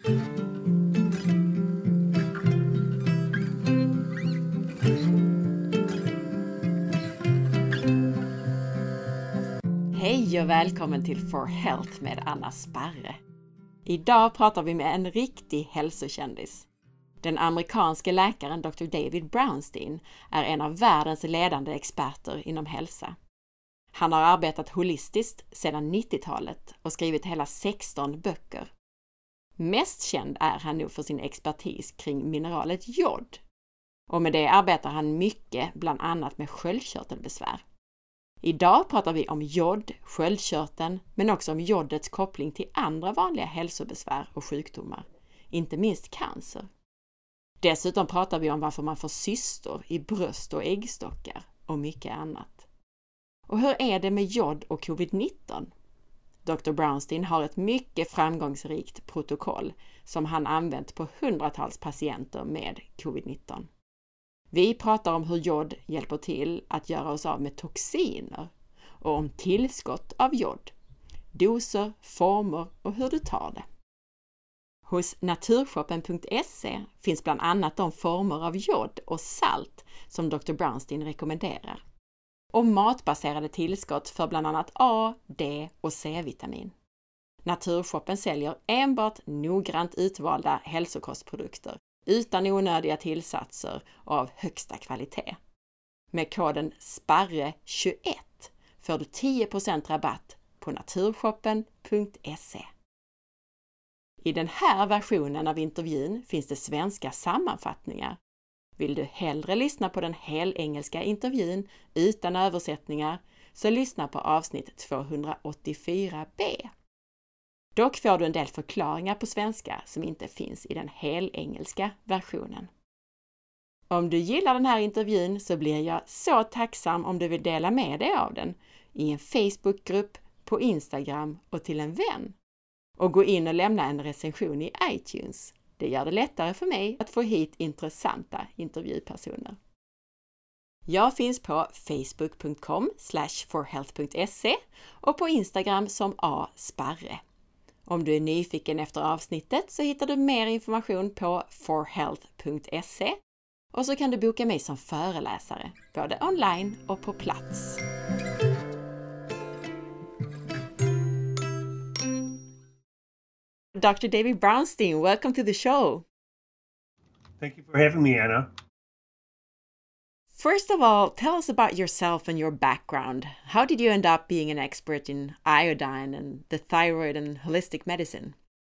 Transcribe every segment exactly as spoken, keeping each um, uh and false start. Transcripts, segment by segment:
Hej och välkommen till For Health med Anna Sparre. Idag pratar vi med en riktig hälsokändis. Den amerikanske läkaren doktor David Brownstein är en av världens ledande experter inom hälsa. Han har arbetat holistiskt sedan nittiotalet och skrivit hela sexton böcker. Mest känd är han nog för sin expertis kring mineralet jod. Och med det arbetar han mycket, bland annat med sköldkörtelbesvär. Idag pratar vi om jod, sköldkörteln, men också om jodets koppling till andra vanliga hälsobesvär och sjukdomar, inte minst cancer. Dessutom pratar vi om varför man får cystor i bröst och äggstockar och mycket annat. Och hur är det med jod och covid nitton? doktor Brownstein har ett mycket framgångsrikt protokoll som han använt på hundratals patienter med covid nitton. Vi pratar om hur jod hjälper till att göra oss av med toxiner och om tillskott av jod, doser, former och hur du tar det. Hos naturshoppen punkt se finns bland annat de former av jod och salt som doktor Brownstein rekommenderar. Och matbaserade tillskott för bland annat A, D och C-vitamin. Naturshoppen säljer enbart noggrant utvalda hälsokostprodukter utan onödiga tillsatser och av högsta kvalitet. Med koden sparre tjugoett får du tio procent rabatt på naturshoppen punkt se. I den här versionen av intervjun finns det svenska sammanfattningar. Vill du hellre lyssna på den helengelska intervjun utan översättningar så lyssna på avsnitt tvåhundraåttiofyra b. Dock får du en del förklaringar på svenska som inte finns i den helengelska versionen. Om du gillar den här intervjun så blir jag så tacksam om du vill dela med dig av den i en Facebookgrupp, på Instagram och till en vän. Och gå in och lämna en recension i iTunes. Det gör det lättare för mig att få hit intressanta intervjupersoner. Jag finns på facebook punkt com slash forhealth punkt se och på Instagram som a sparre. Om du är nyfiken efter avsnittet så hittar du mer information på forhealth punkt se och så kan du boka mig som föreläsare, både online och på plats. doctor David Brownstein, welcome to the show. Thank you for having me, Anna. First of all, tell us about yourself and your background. How did you end up being an expert in iodine and the thyroid and holistic medicine?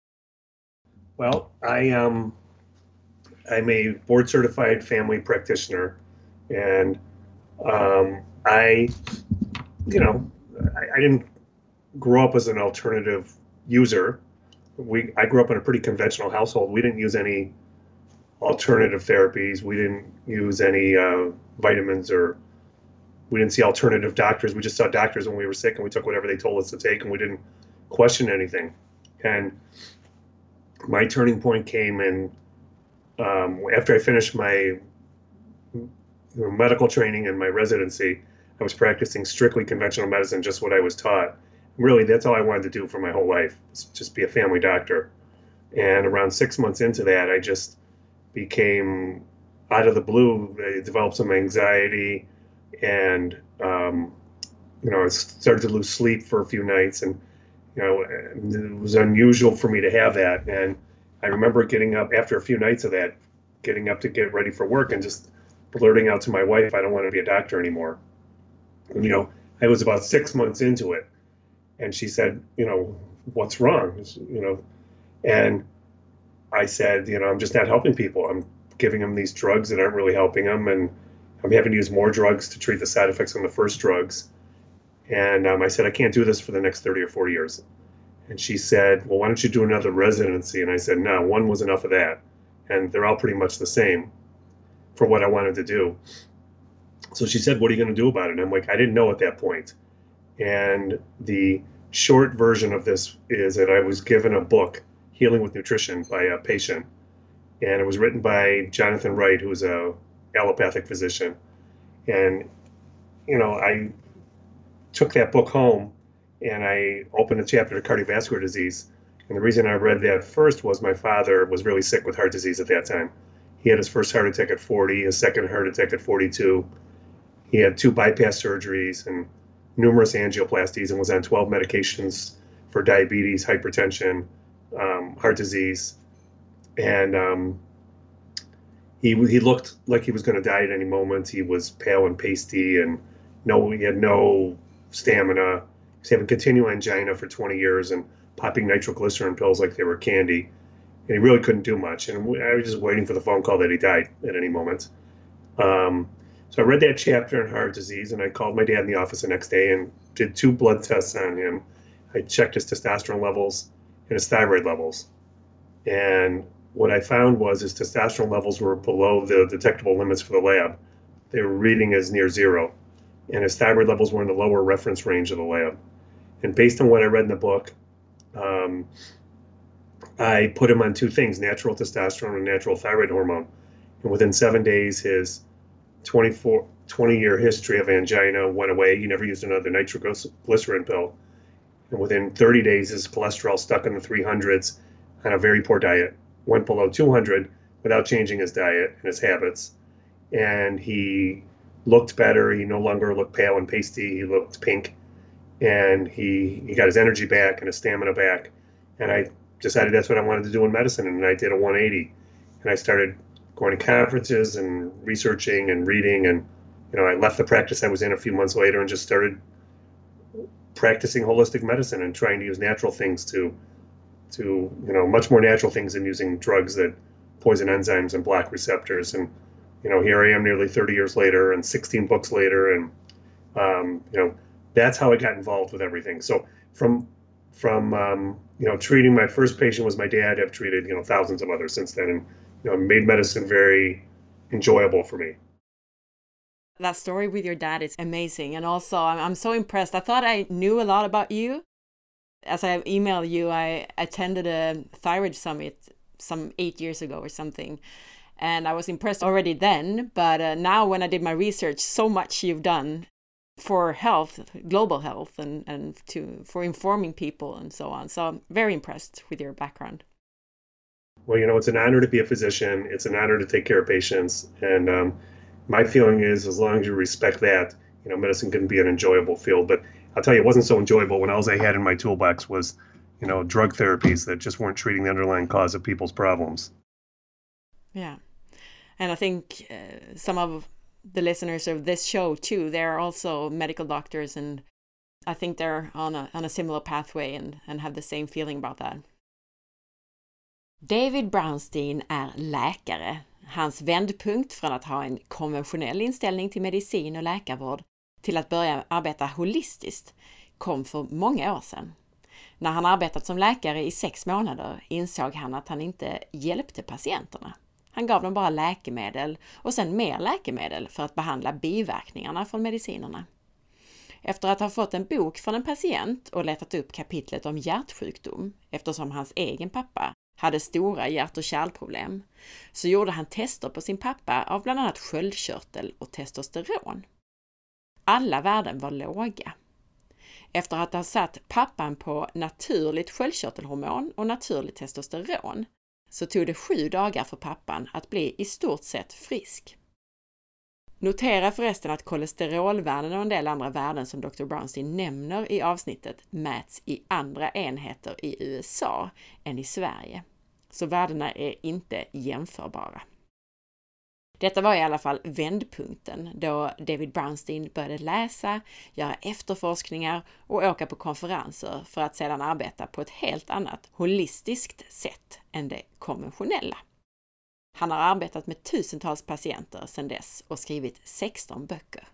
Well, I um, I'm a board-certified family practitioner, and um, I, you know, I, I didn't grow up as an alternative user. We I grew up in a pretty conventional household. We didn't use any alternative therapies. We didn't use any uh, vitamins, or we didn't see alternative doctors. We just saw doctors when we were sick, and we took whatever they told us to take, and we didn't question anything. And my turning point came in um, after I finished my medical training and my residency. I was practicing strictly conventional medicine, just what I was taught. Really, that's all I wanted to do for my whole life, just be a family doctor. And around six months into that, I just became, out of the blue, I developed some anxiety, and um, you know, I started to lose sleep for a few nights, and you know, it was unusual for me to have that. And I remember getting up after a few nights of that, getting up to get ready for work, and just blurting out to my wife, "I don't want to be a doctor anymore." And, you know, I was about six months into it. And she said, you know, "What's wrong?" You know, and I said, you know, "I'm just not helping people. I'm giving them these drugs that aren't really helping them, and I'm having to use more drugs to treat the side effects from the first drugs." And um, I said, "I can't do this for the next thirty or forty years." And she said, "Well, why don't you do another residency?" And I said, "No, one was enough of that. And they're all pretty much the same for what I wanted to do." So she said, "What are you going to do about it?" And I'm like, I didn't know at that point. And the short version of this is that I was given a book, Healing with Nutrition, by a patient. And it was written by Jonathan Wright, who's a allopathic physician. And, you know, I took that book home and I opened a chapter to cardiovascular disease. And the reason I read that first was my father was really sick with heart disease at that time. He had his first heart attack at forty, his second heart attack at forty-two. He had two bypass surgeries and numerous angioplasties and was on twelve medications for diabetes, hypertension, um, heart disease. And um, he he looked like he was going to die at any moment. He was pale and pasty, and no, he had no stamina. He was having continual angina for twenty years and popping nitroglycerin pills like they were candy. And he really couldn't do much. And I was just waiting for the phone call that he died at any moment. Um, so I read that chapter on heart disease, and I called my dad in the office the next day and did two blood tests on him. I checked his testosterone levels and his thyroid levels. And what I found was his testosterone levels were below the detectable limits for the lab. They were reading as near zero. And his thyroid levels were in the lower reference range of the lab. And based on what I read in the book, um, I put him on two things, natural testosterone and natural thyroid hormone. And within seven days, his twenty-four, twenty-year history of angina went away. He never used another nitroglycerin pill. And within thirty days, his cholesterol stuck in the three hundreds on a very poor diet, went below two hundred without changing his diet and his habits. And he looked better. He no longer looked pale and pasty. He looked pink. And he, he got his energy back and his stamina back. And I decided that's what I wanted to do in medicine. And I did a one eighty. And I started going to conferences and researching and reading. And, you know, I left the practice I was in a few months later and just started practicing holistic medicine and trying to use natural things to, to, you know, much more natural things than using drugs that poison enzymes and block receptors. And, you know, here I am nearly thirty years later and sixteen books later. And, um, you know, that's how I got involved with everything. So from, from, um, you know, treating my first patient was my dad. I've treated, you know, thousands of others since then, and, you know, made medicine very enjoyable for me. That story with your dad is amazing. And also, I'm, I'm so impressed. I thought I knew a lot about you. As I emailed you, I attended a thyroid summit some eight years ago or something. And I was impressed already then. But uh, now when I did my research, so much you've done for health, global health, and, and to for informing people and so on. So I'm very impressed with your background. Well, you know, it's an honor to be a physician. It's an honor to take care of patients. And um, my feeling is as long as you respect that, you know, medicine can be an enjoyable field. But I'll tell you, it wasn't so enjoyable when all I had in my toolbox was, you know, drug therapies that just weren't treating the underlying cause of people's problems. Yeah. And I think uh, some of the listeners of this show too, they're also medical doctors, and I think they're on a, on a similar pathway and, and have the same feeling about that. David Brownstein är läkare. Hans vändpunkt från att ha en konventionell inställning till medicin och läkarvård till att börja arbeta holistiskt kom för många år sedan. När han arbetat som läkare i sex månader insåg han att han inte hjälpte patienterna. Han gav dem bara läkemedel och sen mer läkemedel för att behandla biverkningarna från medicinerna. Efter att ha fått en bok från en patient och letat upp kapitlet om hjärtsjukdom, eftersom hans egen pappa hade stora hjärt- och kärlproblem, så gjorde han tester på sin pappa av bland annat sköldkörtel och testosteron. Alla värden var låga. Efter att ha satt pappan på naturligt sköldkörtelhormon och naturligt testosteron så tog det sju dagar för pappan att bli i stort sett frisk. Notera förresten att kolesterolvärden och en del andra värden som doktor Brownstein nämner i avsnittet mäts i andra enheter i U S A än i Sverige. Så värdena är inte jämförbara. Detta var i alla fall vändpunkten då David Brownstein började läsa, göra efterforskningar och åka på konferenser för att sedan arbeta på ett helt annat holistiskt sätt än det konventionella. Han har arbetat med tusentals patienter sedan dess och skrivit sexton böcker.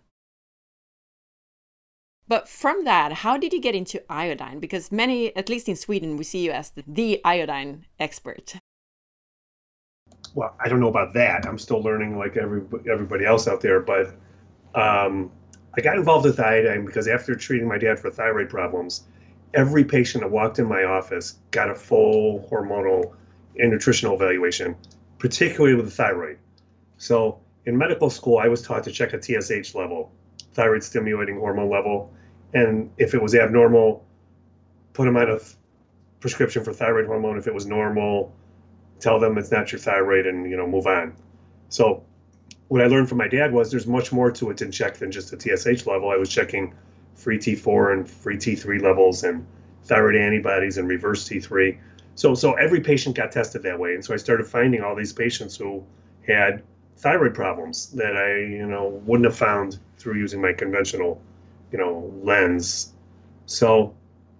But from that, how did you get into iodine? Because many, at least in Sweden, we see you as the, the iodine expert. Well, I don't know about that. I'm still learning like every, everybody else out there. But um, I got involved with iodine because after treating my dad for thyroid problems, every patient that walked in my office got a full hormonal and nutritional evaluation, particularly with the thyroid. So in medical school, I was taught to check a T S H level, thyroid stimulating hormone level. And if it was abnormal, put them on a prescription for thyroid hormone if it was normal, tell them it's not your thyroid, and you know move on. So what I learned from my dad was there's much more to it to check than just a T S H level. I was checking free T four and free T three levels and thyroid antibodies and reverse T three. So so every patient got tested that way. And so I started finding all these patients who had thyroid problems that I, you know, wouldn't have found through using my conventional, you know, lens. So,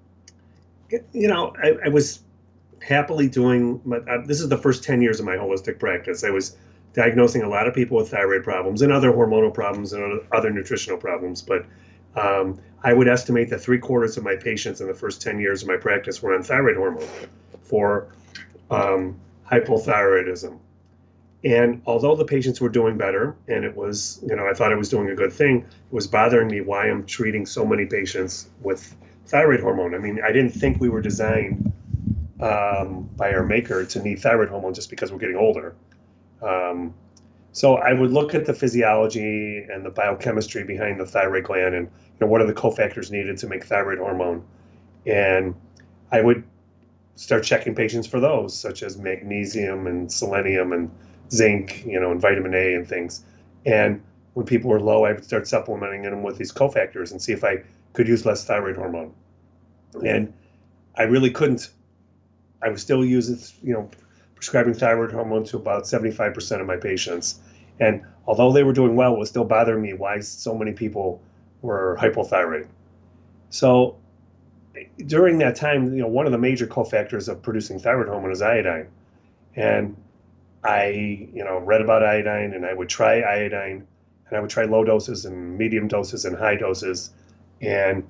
you know, I, I was happily doing, my, uh, this is the first ten years of my holistic practice. I was diagnosing a lot of people with thyroid problems and other hormonal problems and other, other nutritional problems. But um, I would estimate that three quarters of my patients in the first ten years of my practice were on thyroid hormone for um, hypothyroidism. And although the patients were doing better, and it was, you know, I thought I was doing a good thing, it was bothering me why I'm treating so many patients with thyroid hormone. I mean, I didn't think we were designed um, by our maker to need thyroid hormone just because we're getting older. Um, so I would look at the physiology and the biochemistry behind the thyroid gland and, you know, what are the cofactors needed to make thyroid hormone. And I would start checking patients for those, such as magnesium and selenium and zinc, you know, and vitamin A and things. And when people were low, I would start supplementing them with these cofactors and see if I could use less thyroid hormone. And I really couldn't. I was still using, you know, prescribing thyroid hormone to about seventy-five percent of my patients. And although they were doing well, it was still bothering me why so many people were hypothyroid. So during that time, you know, one of the major cofactors of producing thyroid hormone is iodine. And I, you know, read about iodine, and I would try iodine, and I would try low doses and medium doses and high doses. And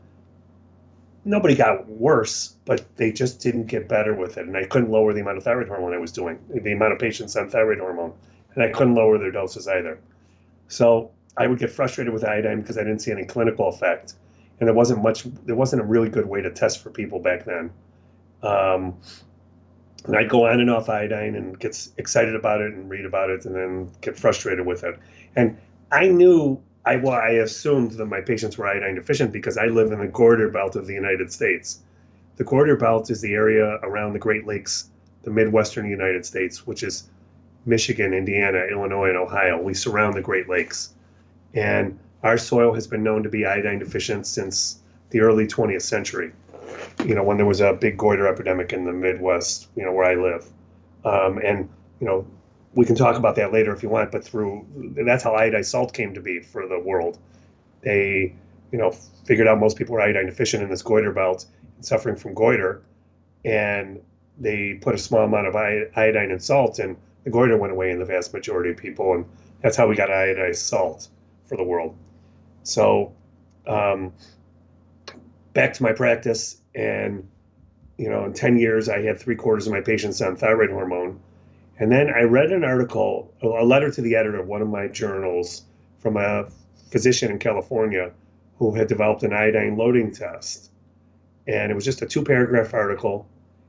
nobody got worse, but they just didn't get better with it. And I couldn't lower the amount of thyroid hormone I was doing, the amount of patients on thyroid hormone. And I couldn't lower their doses either. So I would get frustrated with iodine because I didn't see any clinical effect. And there wasn't much, there wasn't a really good way to test for people back then. Um, and I'd go on and off iodine and get excited about it and read about it and then get frustrated with it. And I knew, I, well, I assumed that my patients were iodine deficient because I live in the Goiter Belt of the United States. The Goiter Belt is the area around the Great Lakes, the Midwestern United States, which is Michigan, Indiana, Illinois, and Ohio. We surround the Great Lakes. And our soil has been known to be iodine deficient since the early twentieth century, you know, when there was a big goiter epidemic in the Midwest, you know, where I live. Um, and, you know, we can talk about that later if you want, but through, that's how iodized salt came to be for the world. They, you know, figured out most people were iodine deficient in this goiter belt and suffering from goiter. And they put a small amount of iodine in salt, and the goiter went away in the vast majority of people. And that's how we got iodized salt for the world. So um, back to my practice, and, you know, in ten years, I had three quarters of my patients on thyroid hormone. And then I read an article, a letter to the editor of one of my journals from a physician in California who had developed an iodine loading test. And it was just a two paragraph article.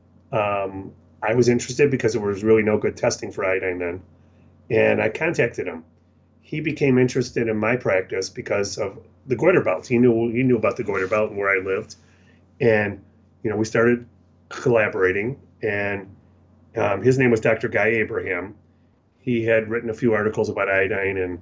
Um, I was interested because there was really no good testing for iodine then. And I contacted him. He became interested in my practice because of the goiter belt. He knew he knew about the goiter belt and where I lived. And, you know, we started collaborating, and um, his name was Doctor Guy Abraham. He had written a few articles about iodine and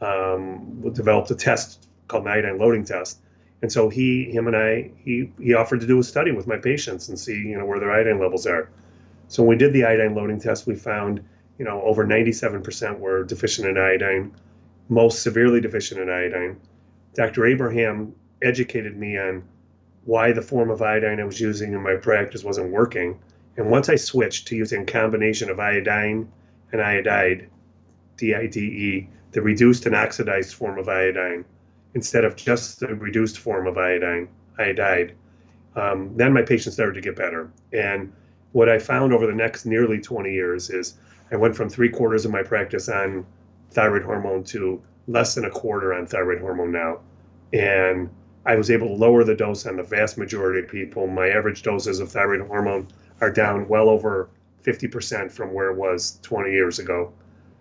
um, developed a test called an iodine loading test. And so he, him and I, he, he offered to do a study with my patients and see, you know, where their iodine levels are. So when we did the iodine loading test, we found, you know, over ninety-seven percent were deficient in iodine, most severely deficient in iodine. Doctor Abraham educated me on why the form of iodine I was using in my practice wasn't working. And once I switched to using a combination of iodine and iodide, D I D E, the reduced and oxidized form of iodine, instead of just the reduced form of iodine, iodide, um, then my patients started to get better. And what I found over the next nearly twenty years is I went from three quarters of my practice on thyroid hormone to less than a quarter on thyroid hormone now. And I was able to lower the dose on the vast majority of people. My average doses of thyroid hormone are down well over fifty percent from where it was twenty years ago.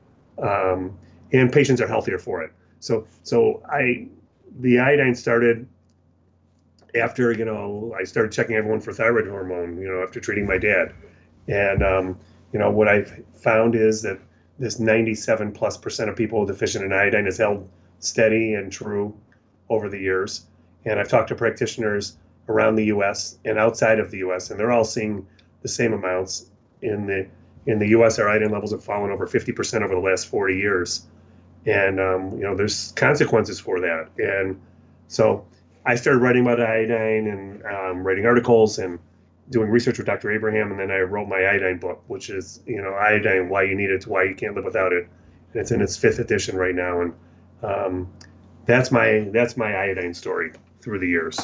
Um, and patients are healthier for it. So, so I, the iodine started after, you know, I started checking everyone for thyroid hormone, you know, after treating my dad. And, um, you know, what I've found is that this ninety-seven plus percent of people deficient in iodine has held steady and true over the years. And I've talked to practitioners around the U S and outside of the U S, and they're all seeing the same amounts. In the in the U S, our iodine levels have fallen over fifty percent over the last forty years. And, um, you know, there's consequences for that. And so I started writing about iodine and um, writing articles and doing research with Doctor Abraham. And then I wrote my iodine book, which is, you know, iodine, why you need it, why you can't live without it. And it's in its fifth edition right now. And um, that's my that's my iodine story through the years.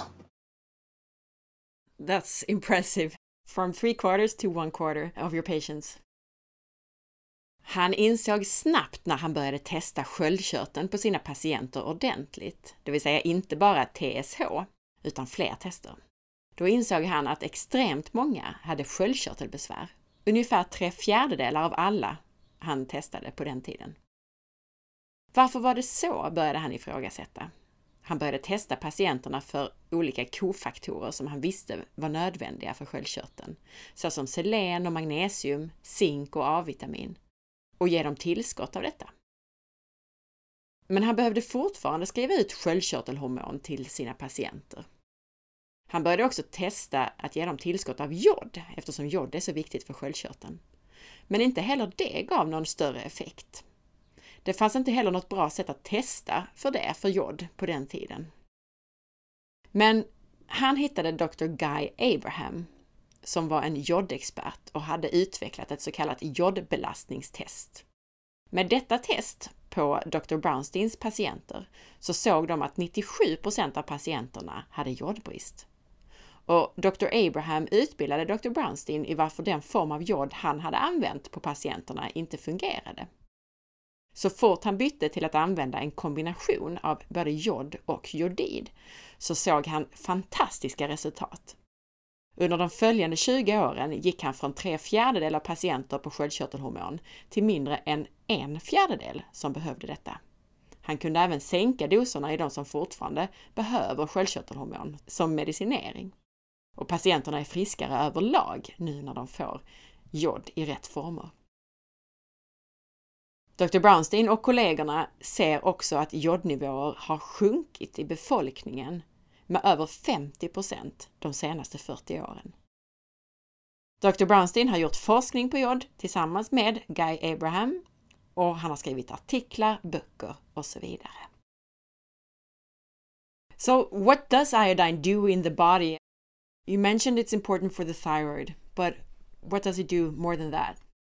That's impressive. From three quarters to one quarter of your patients. Han insåg snabbt när han började testa sköldkörteln på sina patienter ordentligt, det vill säga inte bara T S H, utan fler tester. Då insåg han att extremt många hade sköldkörtelbesvär, ungefär tre fjärdedelar av alla han testade på den tiden. Varför var det så, började han ifrågasätta. Han började testa patienterna för olika kofaktorer som han visste var nödvändiga för sköldkörteln, såsom selen och magnesium, zink och A-vitamin, och ge dem tillskott av detta. Men han behövde fortfarande skriva ut sköldkörtelhormon till sina patienter. Han började också testa att ge dem tillskott av jod, eftersom jod är så viktigt för sköldkörteln. Men inte heller det gav någon större effekt. Det fanns inte heller något bra sätt att testa för det, för jod, på den tiden. Men han hittade doktor Guy Abraham, som var en jodexpert och hade utvecklat ett så kallat jodbelastningstest. Med detta test på doktor Brownsteins patienter så såg de att nittiosju procent av patienterna hade jodbrist. Och doktor Abraham utbildade doktor Brownstein i varför den form av jod han hade använt på patienterna inte fungerade. Så fort han bytte till att använda en kombination av både jod och jodid så såg han fantastiska resultat. Under de följande tjugo åren gick han från tre fjärdedelar av patienter på sköldkörtelhormon till mindre än en fjärdedel som behövde detta. Han kunde även sänka doserna i de som fortfarande behöver sköldkörtelhormon som medicinering. Och patienterna är friskare överlag nu när de får jod i rätt former. doktor Brownstein och kollegorna ser också att jodnivåer har sjunkit i befolkningen med över femtio procent de senaste fyrtio åren. doktor Brownstein har gjort forskning på jod tillsammans med Guy Abraham och han har skrivit artiklar, böcker och så vidare. So what does iodine do in the body? You mentioned it's important for the thyroid, but what does it do more than that?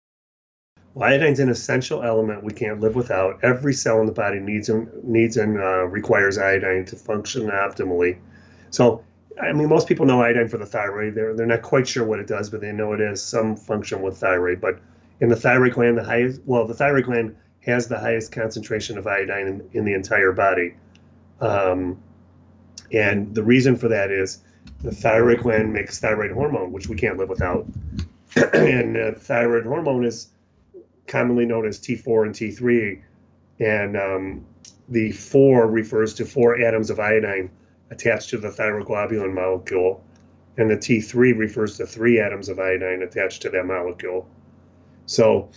Well, iodine's an essential element we can't live without. Every cell in the body needs and needs and uh, requires iodine to function optimally. So, I mean, most people know iodine for the thyroid. They're they're not quite sure what it does, but they know it has some function with thyroid. But in the thyroid gland, the highest well, the thyroid gland has the highest concentration of iodine in, in the entire body. Um, and the reason for that is the thyroid gland makes thyroid hormone, which we can't live without. and uh, thyroid hormone is commonly known as T four and T three, and um, the four refers to four atoms of iodine attached to the thyroglobulin molecule, and the T three refers to three atoms of iodine attached to that molecule. So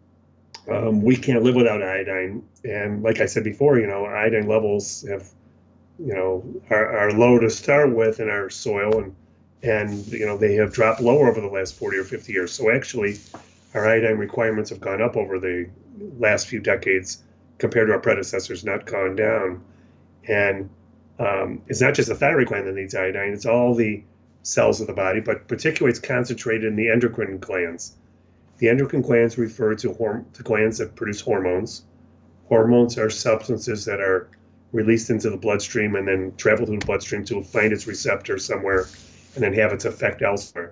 um, we can't live without iodine, and like I said before, you know, iodine levels have, you know, are, are low to start with in our soil, and and you know they have dropped lower over the last forty or fifty years. So actually, our iodine requirements have gone up over the last few decades compared to our predecessors, not gone down. And um, it's not just the thyroid gland that needs iodine, it's all the cells of the body, but particularly it's concentrated in the endocrine glands. The endocrine glands refer to, horm- to glands that produce hormones. Hormones are substances that are released into the bloodstream and then travel through the bloodstream to find its receptor somewhere and then have its effect elsewhere.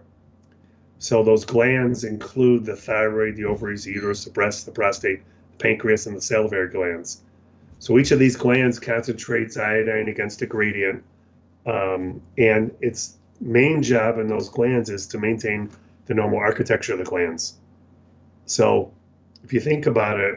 So those glands include the thyroid, the ovaries, the uterus, the breast, the prostate, the pancreas, and the salivary glands. So each of these glands concentrates iodine against a gradient, um, and its main job in those glands is to maintain the normal architecture of the glands. So if you think about it,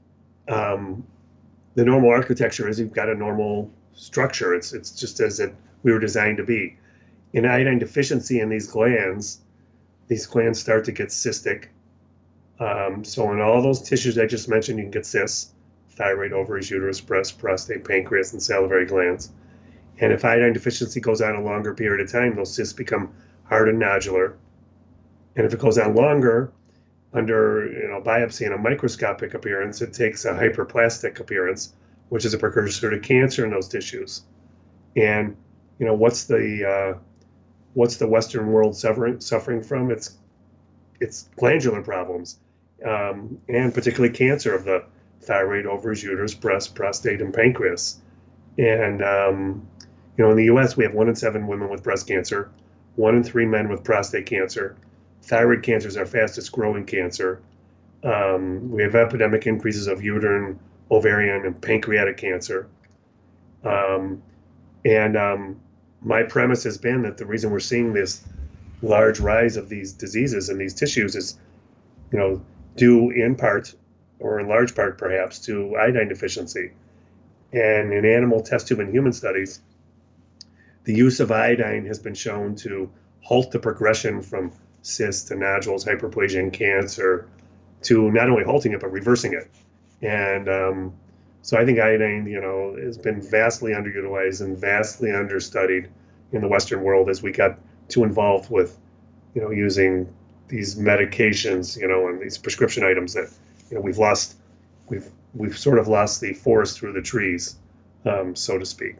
um, the normal architecture is you've got a normal structure. It's it's just as it we were designed to be. In iodine deficiency in these glands, these glands start to get cystic. Um, so in all those tissues I just mentioned, you can get cysts: thyroid, ovaries, uterus, breast, prostate, pancreas, and salivary glands. And if iodine deficiency goes on a longer period of time, those cysts become hard and nodular. And if it goes on longer, under you know biopsy and a microscopic appearance, it takes a hyperplastic appearance, which is a precursor to cancer in those tissues. And you know what's the uh, what's the Western world suffering suffering from? It's it's glandular problems, um, and particularly cancer of the thyroid, ovaries, uterus, breast, prostate, and pancreas. And um, you know, in the U S, we have one in seven women with breast cancer, one in three men with prostate cancer. Thyroid cancer is our fastest growing cancer. Um, we have epidemic increases of uterine, ovarian, and pancreatic cancer. Um, and um, my premise has been that the reason we're seeing this large rise of these diseases in these tissues is, you know, due in part, or in large part perhaps, to iodine deficiency. And in animal test tube and human studies, the use of iodine has been shown to halt the progression from cysts to nodules, hyperplasia, and cancer, to not only halting it, but reversing it. And um, so I think iodine, you know, has been vastly underutilized and vastly understudied in the Western world as we got too involved with, you know, using these medications, you know, and these prescription items that, you know, we've lost, we've we've sort of lost the forest through the trees, um, so to speak.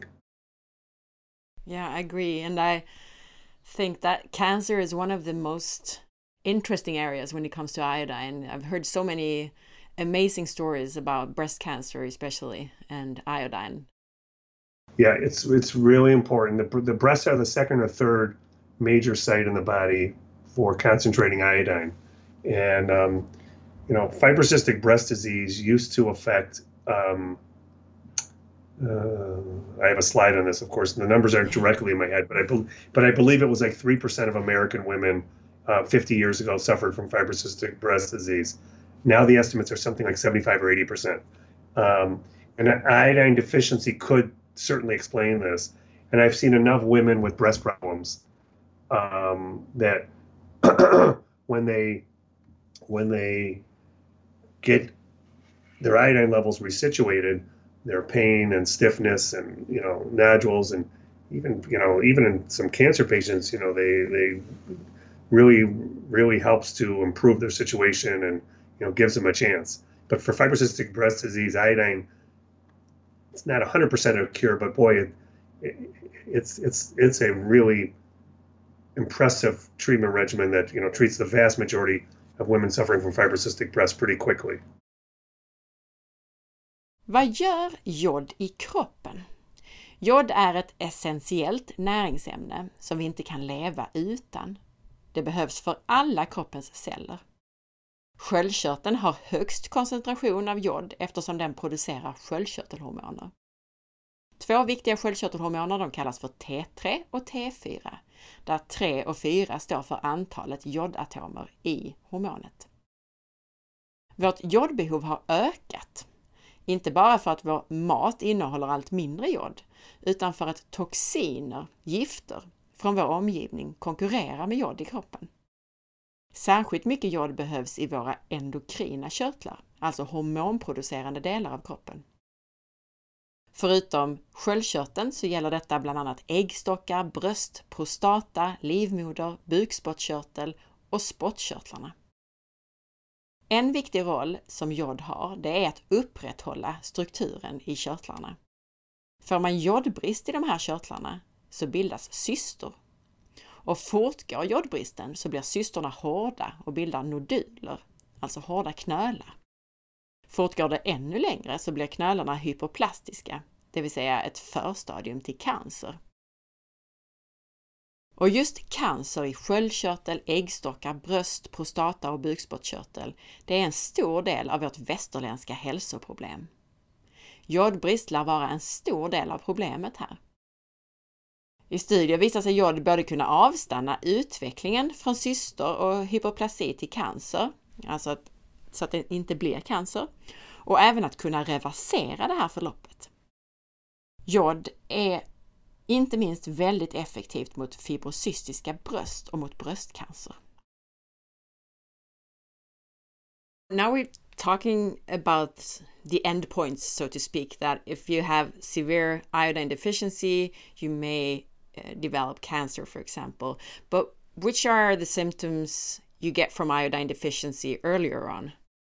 Yeah, I agree. And I think that cancer is one of the most interesting areas when it comes to iodine. I've heard so many amazing stories about breast cancer, especially, and iodine. Yeah, it's it's really important. The, the breasts are the second or third major site in the body for concentrating iodine. And, um, you know, fibrocystic breast disease used to affect, um, uh, I have a slide on this, of course, and the numbers aren't directly in my head, but I, be, but I believe it was like three percent of American women uh, fifty years ago suffered from fibrocystic breast disease. Now the estimates are something like seventy-five or eighty percent. Um, and iodine deficiency could certainly explain this. And I've seen enough women with breast problems um, that when they when they get their iodine levels resituated, their pain and stiffness and, you know, nodules, and even, you know, even in some cancer patients, you know, they they really really helps to improve their situation and, you know, gives them a chance. But for fibrocystic breast disease, iodine, it's not one hundred percent a cure, but boy, it, it, it's it's it's a really impressive treatment regimen that, you know, treats the vast majority of women suffering from fibrocystic breast pretty quickly. Vad gör jod i kroppen? Jod är ett essentiellt näringsämne som vi inte kan leva utan. Det behövs för alla kroppens celler. Sköldkörteln har högst koncentration av jod eftersom den producerar sköldkörtelhormoner. Två viktiga sköldkörtelhormoner, de kallas för T tre och T fyra, där tre och fyra står för antalet jodatomer i hormonet. Vårt jodbehov har ökat, inte bara för att vår mat innehåller allt mindre jod, utan för att toxiner, gifter, från vår omgivning konkurrerar med jod i kroppen. Särskilt mycket jod behövs i våra endokrina körtlar, alltså hormonproducerande delar av kroppen. Förutom sköldkörteln så gäller detta bland annat äggstockar, bröst, prostata, livmoder, bukspottkörtel och spottkörtlarna. En viktig roll som jod har, det är att upprätthålla strukturen i körtlarna. Får man jodbrist i de här körtlarna så bildas cystor. Och fortgår jodbristen så blir cystorna hårda och bildar noduler, alltså hårda knölar. Fortgår det ännu längre så blir knölarna hyperplastiska, det vill säga ett förstadium till cancer. Och just cancer i sköldkörtel, äggstockar, bröst, prostata och bukspottkörtel, det är en stor del av vårt västerländska hälsoproblem. Jodbrist lär vara en stor del av problemet här. I studier visar sig jod både kunna avstanna utvecklingen från cystor och hyperplasi till cancer, alltså att, så att det inte blir cancer, och även att kunna reversera det här förloppet. Jod är inte minst väldigt effektivt mot fibrocystiska bröst och mot bröstcancer. Now we're talking about the endpoints, so to speak, that if you have severe iodine deficiency, you may uh, develop cancer, for example. But which are the symptoms you get from iodine deficiency earlier on?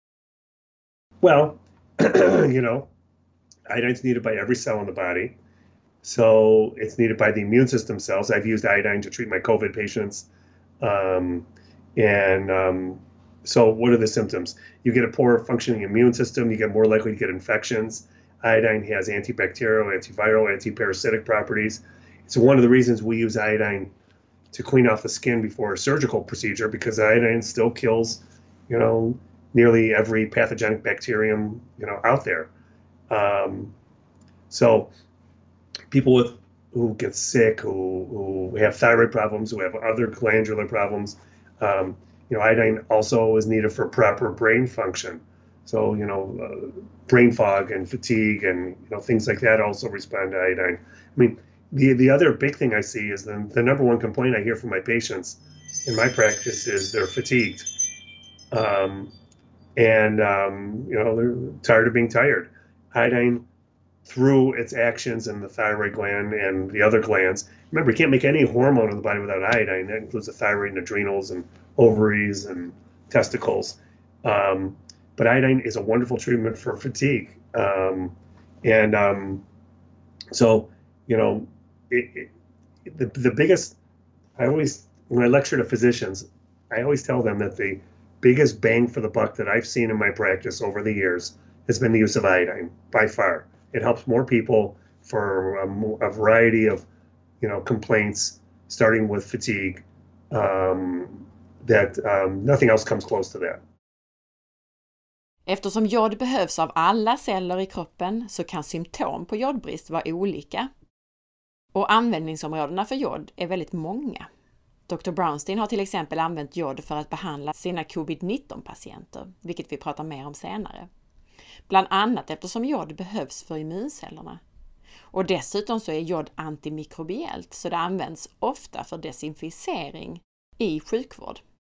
Well, you know, iodine's needed by every cell in the body. So it's needed by the immune system cells. I've used iodine to treat my COVID patients. Um, and um, so what are the symptoms? You get a poor functioning immune system. You get more likely to get infections. Iodine has antibacterial, antiviral, antiparasitic properties. It's one of the reasons we use iodine to clean off the skin before a surgical procedure, because iodine still kills, you know, nearly every pathogenic bacterium, you know, out there. Um, so people with who get sick, who, who have thyroid problems, who have other glandular problems, um, you know, iodine also is needed for proper brain function. So, you know, uh, brain fog and fatigue and, you know, things like that also respond to iodine. I mean, the the other big thing I see is the, the number one complaint I hear from my patients in my practice is they're fatigued. Um, and, um, you know, they're tired of being tired. Iodine, through its actions in the thyroid gland and the other glands. Remember, you can't make any hormone in the body without iodine. That includes the thyroid and adrenals and ovaries and testicles. Um, but iodine is a wonderful treatment for fatigue. Um, and um, so, you know, it, it, the, the biggest, I always, when I lecture to physicians, I always tell them that the biggest bang for the buck that I've seen in my practice over the years has been the use of iodine, by far. It helps more people for a, a variety of, you know, complaints, starting with fatigue, um, that um, nothing else comes close to that. Eftersom jod behövs av alla celler i kroppen så kan symptom på jodbrist vara olika. Och användningsområdena för jod är väldigt många. doktor Brownstein har till exempel använt jod för att behandla sina covid nitton patienter, vilket vi pratar mer om senare. Bland annat eftersom jod behövs för immuncellerna. Och dessutom så är jod antimikrobiellt, så det används ofta för desinficering i sjukvård.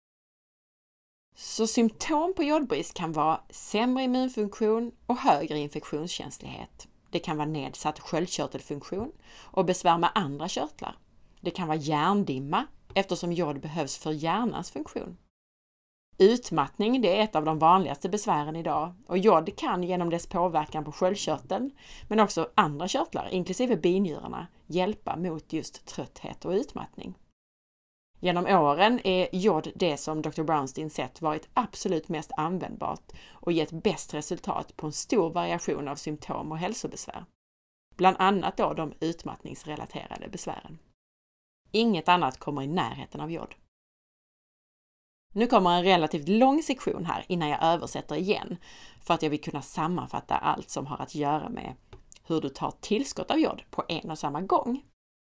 Så symptom på jodbrist kan vara sämre immunfunktion och högre infektionskänslighet. Det kan vara nedsatt sköldkörtelfunktion och besvär med andra körtlar. Det kan vara hjärndimma eftersom jod behövs för hjärnans funktion. Utmattning, det är ett av de vanligaste besvären idag, och jod kan genom dess påverkan på sköldkörteln men också andra körtlar, inklusive binjurarna, hjälpa mot just trötthet och utmattning. Genom åren är jod det som doktor Brownstein sett varit absolut mest användbart och gett bäst resultat på en stor variation av symptom och hälsobesvär. Bland annat då de utmattningsrelaterade besvären. Inget annat kommer i närheten av jod. Nu kommer en relativt lång sektion här innan jag översätter igen, för att jag vill kunna sammanfatta allt som har att göra med hur du tar tillskott av jod på en och samma gång.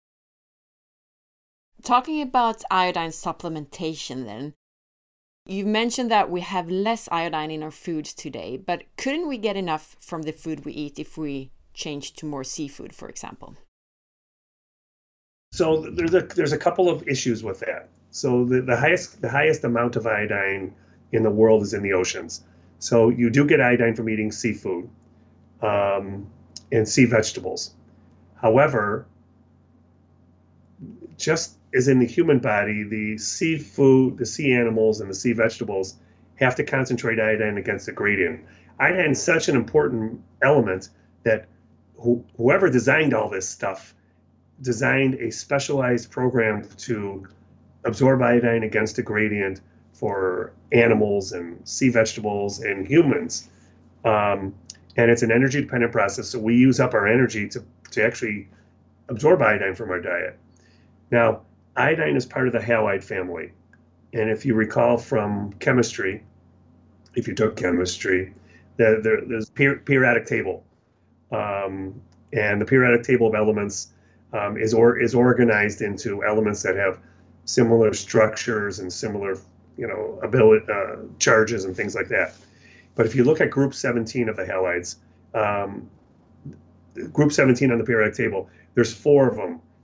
Talking about iodine supplementation then, you mentioned that we have less iodine in our foods today, but couldn't we get enough from the food we eat if we change to more seafood, for example? So there's a there's a couple of issues with that. So the, the highest the highest amount of iodine in the world is in the oceans. So you do get iodine from eating seafood um, and sea vegetables. However, just as in the human body, the seafood, the sea animals, and the sea vegetables have to concentrate iodine against the gradient. Iodine is such an important element that who, whoever designed all this stuff designed a specialized program to absorb iodine against a gradient for animals and sea vegetables and humans. Um, and it's an energy dependent process. So we use up our energy to, to actually absorb iodine from our diet. Now, iodine is part of the halide family. And if you recall from chemistry, if you took chemistry, the, the, there's a per, periodic table. Um, and the periodic table of elements um, is, or, is organized into elements that have similar structures and similar, you know, ability, uh, charges and things like that. But if you look at group seventeen of the halides, um, group seventeen on the periodic table, there's four of them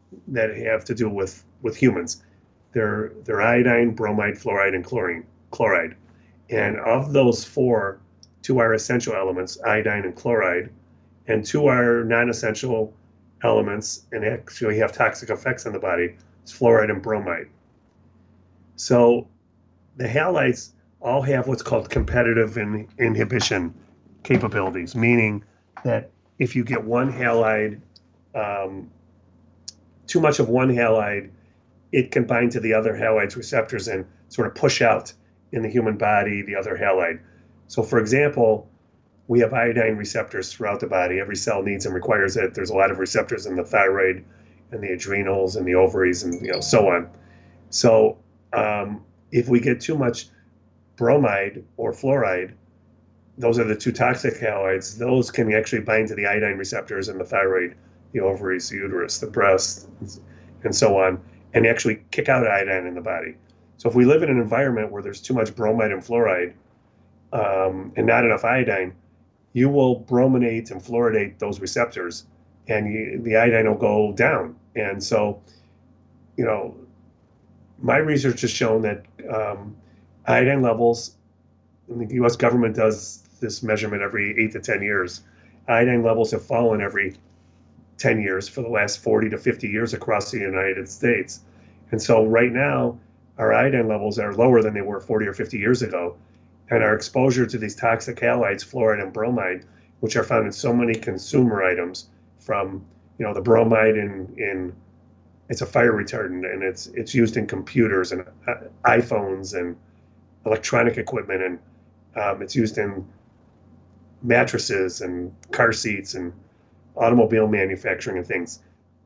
that have to do with, with humans. They're, they're iodine, bromide, fluoride, and chlorine, chloride. And of those four, two are essential elements, iodine and chloride, and two are non-essential elements and actually have toxic effects on the body. It's fluoride and bromide. So the halides all have what's called competitive in, inhibition capabilities, meaning that if you get one halide, um, too much of one halide, it can bind to the other halide's receptors and sort of push out in the human body the other halide. So for example, we have iodine receptors throughout the body. Every cell needs and requires it. There's a lot of receptors in the thyroid and the adrenals and the ovaries and you know so on. So um, if we get too much bromide or fluoride, those are the two toxic halides. Those can actually bind to the iodine receptors in the thyroid, the ovaries, the uterus, the breast, and so on, and actually kick out iodine in the body. So if we live in an environment where there's too much bromide and fluoride um, and not enough iodine, you will brominate and fluoridate those receptors, and you, the iodine will go down. And so, you know, my research has shown that um, iodine levels, and the U S government does this measurement every eight to ten years, iodine levels have fallen every ten years for the last forty to fifty years across the United States. And so right now, our iodine levels are lower than they were forty or fifty years ago. And our exposure to these toxic halides, fluoride and bromide, which are found in so many consumer items, from you know the bromide in in it's a fire retardant, and it's it's used in computers and uh, iPhones and electronic equipment, and um, it's used in mattresses and car seats and automobile manufacturing and things.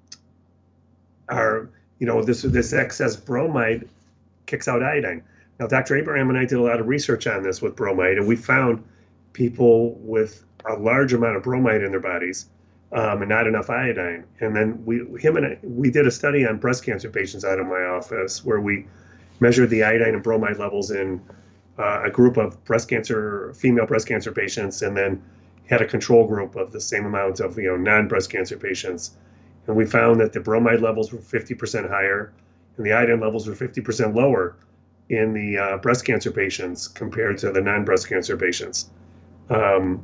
Are you know this this excess bromide kicks out iodine. Now, Doctor Abraham and I did a lot of research on this with bromide, and we found people with a large amount of bromide in their bodies um, and not enough iodine. And then we, him and I, we did a study on breast cancer patients out of my office where we measured the iodine and bromide levels in uh, a group of breast cancer, female breast cancer patients, and then had a control group of the same amount of you know non-breast cancer patients. And we found that the bromide levels were fifty percent higher, and the iodine levels were fifty percent lower in the uh, breast cancer patients compared to the non-breast cancer patients. Um,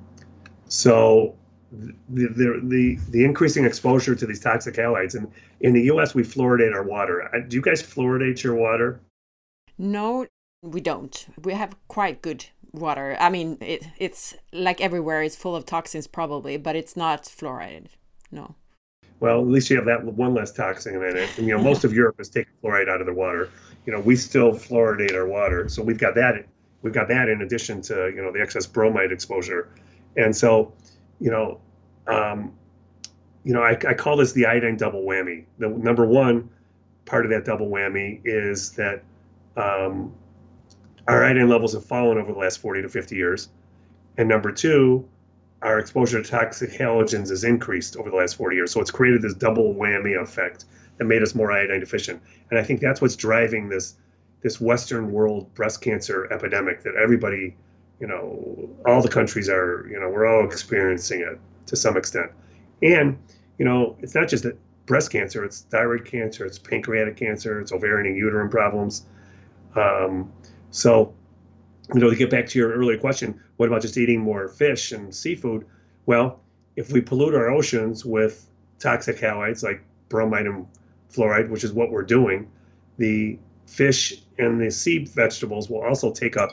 so the, the, the, the increasing exposure to these toxic halides, and in the U S we fluoridate our water. Do you guys fluoridate your water? No, we don't. We have quite good water. I mean, it, it's like everywhere, it's full of toxins probably, but it's not fluoridated. No. Well, at least you have that one less toxin in it. And, you know, most of Europe has taken fluoride out of their water. You know, we still fluoridate our water, so we've got that. We've got that in addition to you know the excess bromide exposure, and so, you know, um, you know, I, I call this the iodine double whammy. The number one part of that double whammy is that um, our iodine levels have fallen over the last forty to fifty years, and number two, our exposure to toxic halogens has increased over the last forty years. So it's created this double whammy effect that made us more iodine deficient. And I think that's what's driving this this Western world breast cancer epidemic that everybody, you know, all the countries are, you know, we're all experiencing it to some extent. And, you know, it's not just that breast cancer, it's thyroid cancer, it's pancreatic cancer, it's ovarian and uterine problems. Um, so, you know, to get back to your earlier question, what about just eating more fish and seafood? Well, if we pollute our oceans with toxic halides like bromide and fluoride, which is what we're doing, the fish and the sea vegetables will also take up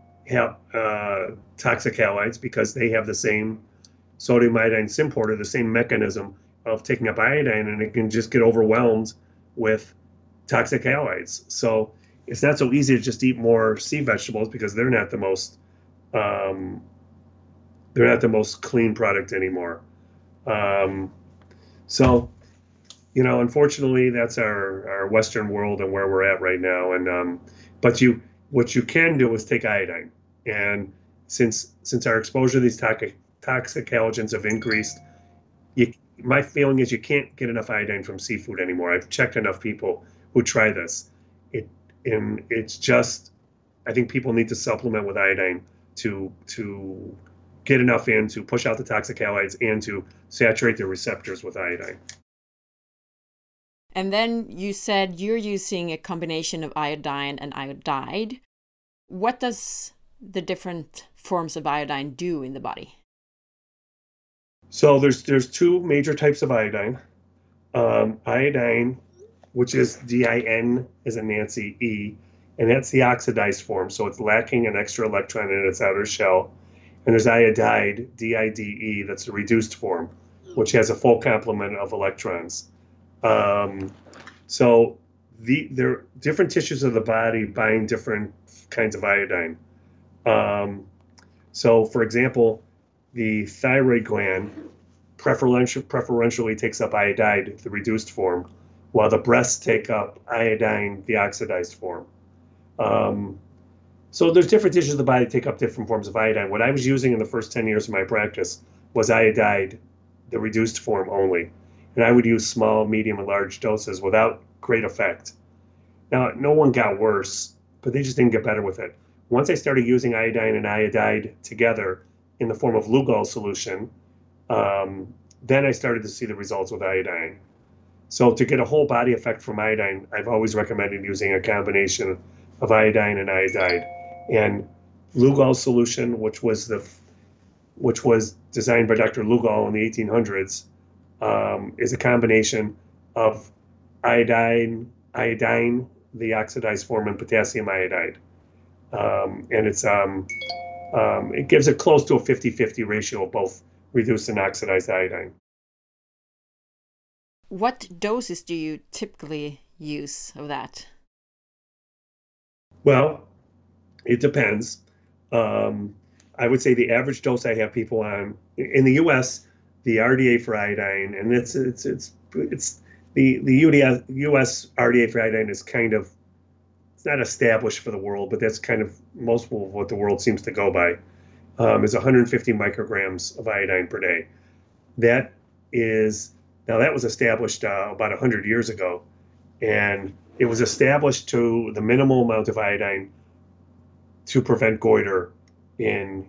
uh, toxic halides because they have the same sodium iodine symporter, the same mechanism of taking up iodine, and it can just get overwhelmed with toxic halides. So it's not so easy to just eat more sea vegetables because they're not the most um, they're not the most clean product anymore. Um, so, you know, unfortunately, that's our, our Western world and where we're at right now. And um, but you, what you can do is take iodine. And since since our exposure to these toxic toxic halogens have increased, you, my feeling is you can't get enough iodine from seafood anymore. I've checked enough people who try this. It and it's just, I think people need to supplement with iodine to to get enough in to push out the toxic halides and to saturate the receptors with iodine. And then you said you're using a combination of iodine and iodide. What does the different forms of iodine do in the body? So there's there's two major types of iodine. Um, iodine, which is D I N as in Nancy, E, and that's the oxidized form. So it's lacking an extra electron in its outer shell. And there's iodide, D I D E, that's the reduced form, which has a full complement of electrons. Um, so the there different tissues of the body bind different kinds of iodine. Um, so, for example, the thyroid gland preferential, preferentially takes up iodide, the reduced form, while the breasts take up iodine, the oxidized form. Um, so there's different tissues of the body that take up different forms of iodine. What I was using in the first ten years of my practice was iodide, the reduced form only. And I would use small, medium, and large doses without great effect. Now, no one got worse, but they just didn't get better with it. Once I started using iodine and iodide together in the form of Lugol solution, um, then I started to see the results with iodine. So to get a whole body effect from iodine, I've always recommended using a combination of iodine and iodide. And Lugol solution, which was the which was designed by Doctor Lugol in the eighteen hundreds, um, is a combination of iodine, iodine, the oxidized form, and potassium iodide. Um, and it's um, um, it gives it close to a fifty-fifty ratio of both reduced and oxidized iodine. What doses do you typically use of that? Well, it depends. Um, I would say the average dose I have people on in the U S, the R D A for iodine, and it's it's it's it's the the U S R D A for iodine is kind of, it's not established for the world, but that's kind of most of what the world seems to go by. Um, is one hundred fifty micrograms of iodine per day. That is now that was established uh, about one hundred years ago, and it was established to the minimal amount of iodine to prevent goiter in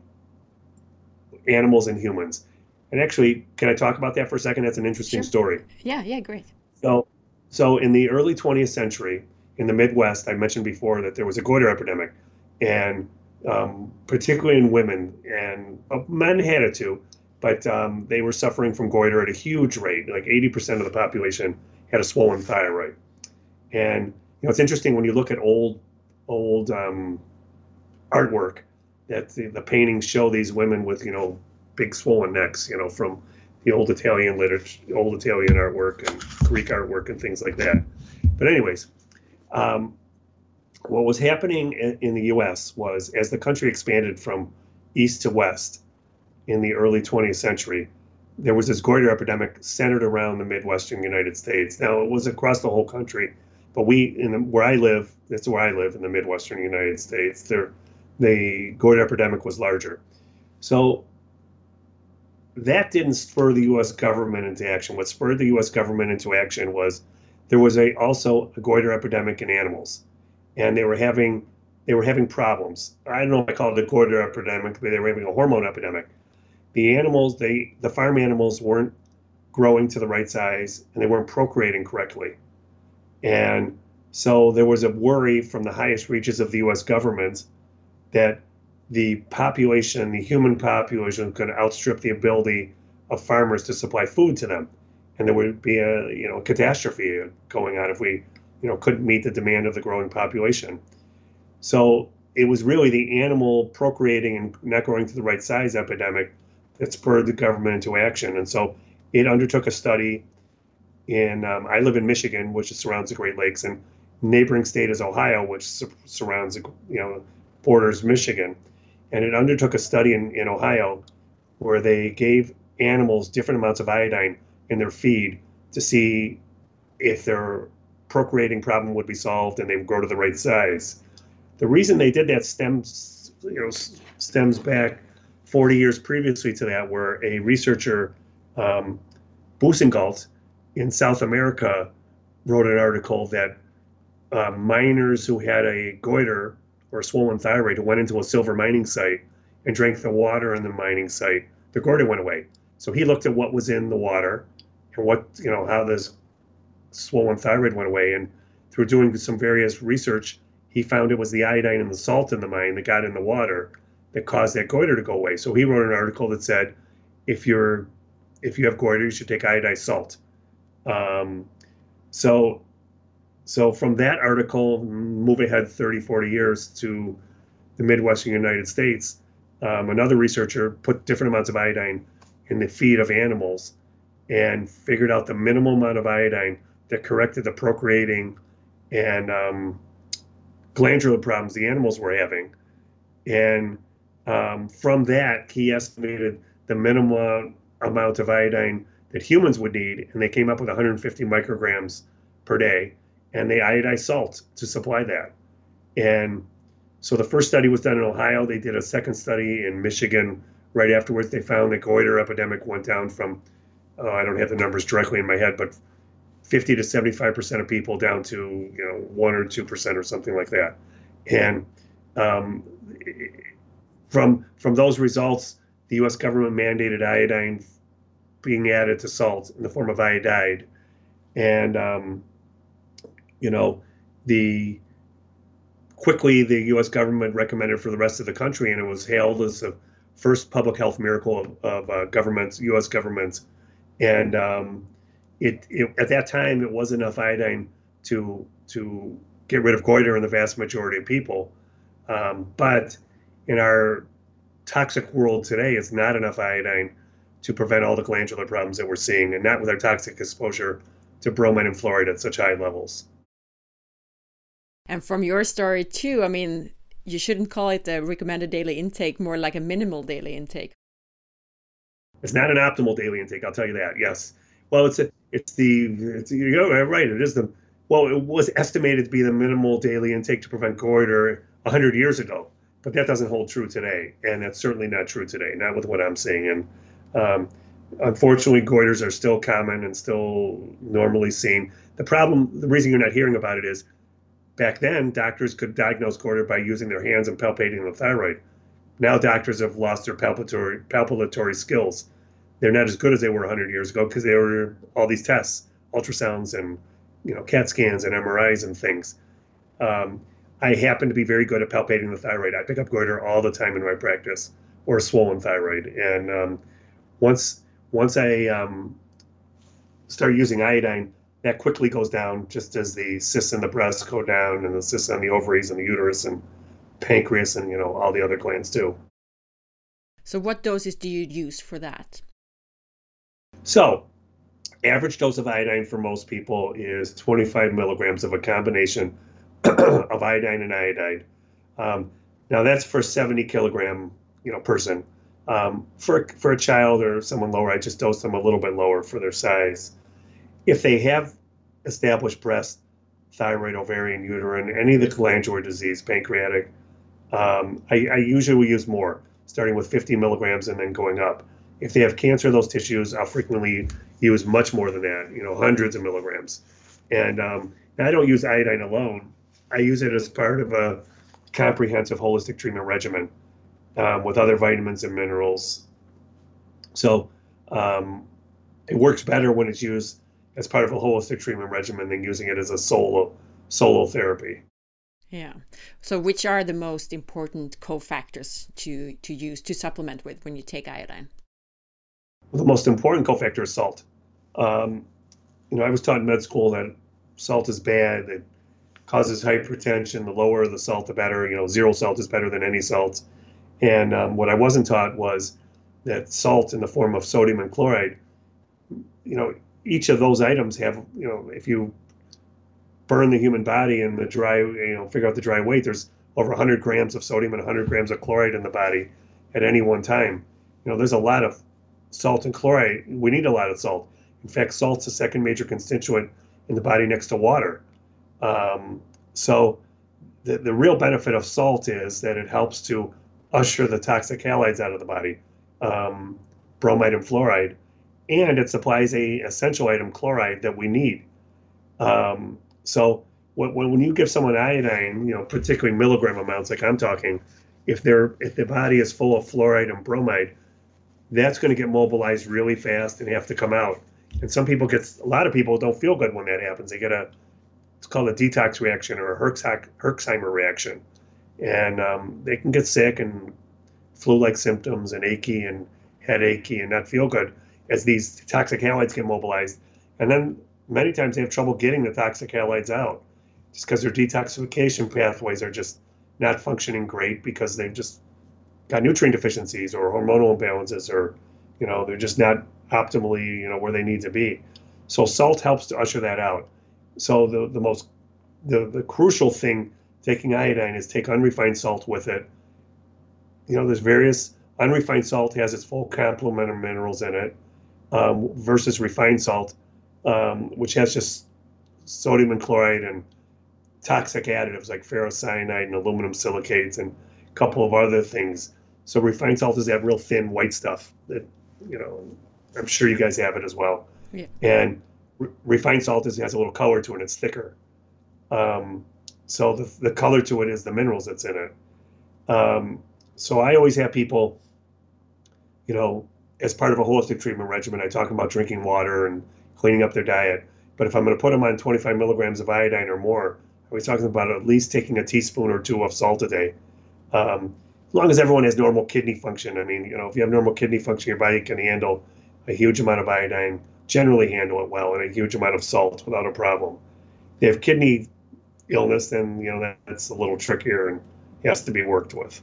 animals and humans. And actually, can I talk about that for a second? That's an interesting Sure. story. Yeah, yeah, great. So, so in the early twentieth century, in the Midwest, I mentioned before that there was a goiter epidemic, and um, particularly in women, and uh, men had it too, but um, they were suffering from goiter at a huge rate. Like eighty percent of the population had a swollen thyroid. And you know, it's interesting when you look at old, old um, artwork that the, the paintings show these women with, you know, big swollen necks, you know, from the old Italian literature, old Italian artwork and Greek artwork and things like that. But anyways, um, what was happening in, in the U S was as the country expanded from east to west in the early twentieth century, there was this goiter epidemic centered around the Midwestern United States. Now, it was across the whole country, but we, in the, where I live, that's where I live in the Midwestern United States, there, the goiter epidemic was larger. So that didn't spur the U S government into action. What spurred the U S government into action was there was a also a goiter epidemic in animals, and they were having they were having problems. I don't know if I call it a goiter epidemic, but they were having a hormone epidemic. The animals, they the farm animals weren't growing to the right size, and they weren't procreating correctly. And so there was a worry from the highest reaches of the U S government that the population, the human population, was going to outstrip the ability of farmers to supply food to them, and there would be a you know catastrophe going on if we you know couldn't meet the demand of the growing population. So it was really the animal procreating and not growing to the right size epidemic that spurred the government into action. And so it undertook a study in, um, I live in Michigan, which surrounds the Great Lakes, and neighboring state is Ohio, which su- surrounds, you know, borders Michigan. And it undertook a study in, in Ohio where they gave animals different amounts of iodine in their feed to see if their procreating problem would be solved and they would grow to the right size. The reason they did that stems, you know, stems back forty years previously to that, where a researcher, um, Boussingault, in South America, wrote an article that uh, miners who had a goiter or a swollen thyroid who went into a silver mining site and drank the water in the mining site, the goiter went away. So he looked at what was in the water and what, you know, how this swollen thyroid went away. And through doing some various research, he found it was the iodine and the salt in the mind that got in the water that caused that goiter to go away. So he wrote an article that said, if you're if you have goiter, you should take iodized salt. Um, so so from that article, move ahead thirty, forty years to the Midwestern United States, um, another researcher put different amounts of iodine in the feed of animals and figured out the minimal amount of iodine that corrected the procreating and um, glandular problems the animals were having. And um, from that, he estimated the minimum amount of iodine that humans would need, and they came up with one hundred fifty micrograms per day, and they iodized salt to supply that. And so the first study was done in Ohio. They did a second study in Michigan. Right afterwards, they found the goiter epidemic went down from, oh, I don't have the numbers directly in my head, but fifty to seventy-five percent of people down to, you know, one or two percent or something like that. And um, from from those results, the U S government mandated iodine being added to salt in the form of iodide. And, um, you know, the quickly the U S government recommended for the rest of the country, and it was hailed as the first public health miracle of, of uh, governments, U S governments. And um, it, it at that time, it was enough iodine to to get rid of goiter in the vast majority of people. Um, but in our toxic world today, it's not enough iodine to prevent all the glandular problems that we're seeing, and not with our toxic exposure to bromide and fluoride at such high levels. And from your story too, I mean, you shouldn't call it a recommended daily intake, more like a minimal daily intake. It's not an optimal daily intake, I'll tell you that, yes. Well, it's a, it's the, it's, you know, right, it is the, well, it was estimated to be the minimal daily intake to prevent goiter one hundred years ago, but that doesn't hold true today, and that's certainly not true today, not with what I'm seeing. And um, unfortunately, goiters are still common and still normally seen. The problem, the reason you're not hearing about it is, back then, doctors could diagnose goiter by using their hands and palpating the thyroid. Now doctors have lost their palpatory, palpatory skills. They're not as good as they were one hundred years ago because they were all these tests, ultrasounds and, you know, CAT scans and M R Is and things. Um, I happen to be very good at palpating the thyroid. I pick up goiter all the time in my practice, or swollen thyroid. And um, once once I um, start using iodine, that quickly goes down, just as the cysts in the breast go down, and the cysts on the ovaries and the uterus and pancreas and, you know, all the other glands too. So what doses do you use for that? So average dose of iodine for most people is twenty-five milligrams of a combination of iodine and iodide. Um, now that's for seventy kilogram, you know, person. Um, for for a child or someone lower, I just dose them a little bit lower for their size. If they have established breast, thyroid, ovarian, uterine, any of the glandular disease, pancreatic, um, I, I usually will use more, starting with fifty milligrams and then going up. If they have cancer of those tissues, I'll frequently use much more than that, you know, hundreds of milligrams. And um, I don't use iodine alone. I use it as part of a comprehensive holistic treatment regimen um, with other vitamins and minerals. So um, it works better when it's used as part of a holistic treatment regimen than using it as a solo solo therapy. Yeah. So which are the most important cofactors to, to use to supplement with when you take iodine? Well, the most important cofactor is salt. Um, you know, I was taught in med school that salt is bad, it causes hypertension. The lower the salt, the better. You know, zero salt is better than any salt. And um, what I wasn't taught was that salt in the form of sodium and chloride, you know, each of those items have, you know, if you burn the human body and the dry, you know, figure out the dry weight, there's over one hundred grams of sodium and one hundred grams of chloride in the body at any one time. You know, there's a lot of salt and chloride. We need a lot of salt. In fact, salt's the second major constituent in the body next to water. Um, so the, the real benefit of salt is that it helps to usher the toxic halides out of the body, um, bromide and fluoride, and it supplies a essential item, chloride, that we need. Um, so when, when you give someone iodine, you know, particularly milligram amounts like I'm talking, if they're if the body is full of fluoride and bromide, that's going to get mobilized really fast and have to come out. And some people get, a lot of people don't feel good when that happens. They get a, it's called a detox reaction or a Herx- Herxheimer reaction. And um, they can get sick and flu-like symptoms and achy and headachy and not feel good as these toxic halides get mobilized. And then many times they have trouble getting the toxic halides out just because their detoxification pathways are just not functioning great because they've just got nutrient deficiencies or hormonal imbalances, or, you know, they're just not optimally, you know, where they need to be. So salt helps to usher that out. So the, the most, the, the crucial thing taking iodine is take unrefined salt with it. You know, there's various, unrefined salt has its full complement of minerals in it, um, versus refined salt, um, which has just sodium and chloride and toxic additives like ferrocyanide and aluminum silicates and a couple of other things. So refined salt is that real thin white stuff that, you know, I'm sure you guys have it as well. Yeah. And re- refined salt is, has a little color to it. It's thicker. Um, so the, the color to it is the minerals that's in it. Um, so I always have people, you know, as part of a holistic treatment regimen, I talk about drinking water and cleaning up their diet. But if I'm going to put them on twenty-five milligrams of iodine or more, I was talking about at least taking a teaspoon or two of salt a day. Um, as long as everyone has normal kidney function. I mean, you know, if you have normal kidney function, your body can handle a huge amount of iodine, generally handle it well, and a huge amount of salt without a problem. If they have kidney illness, then, you know, that, that's a little trickier and has to be worked with.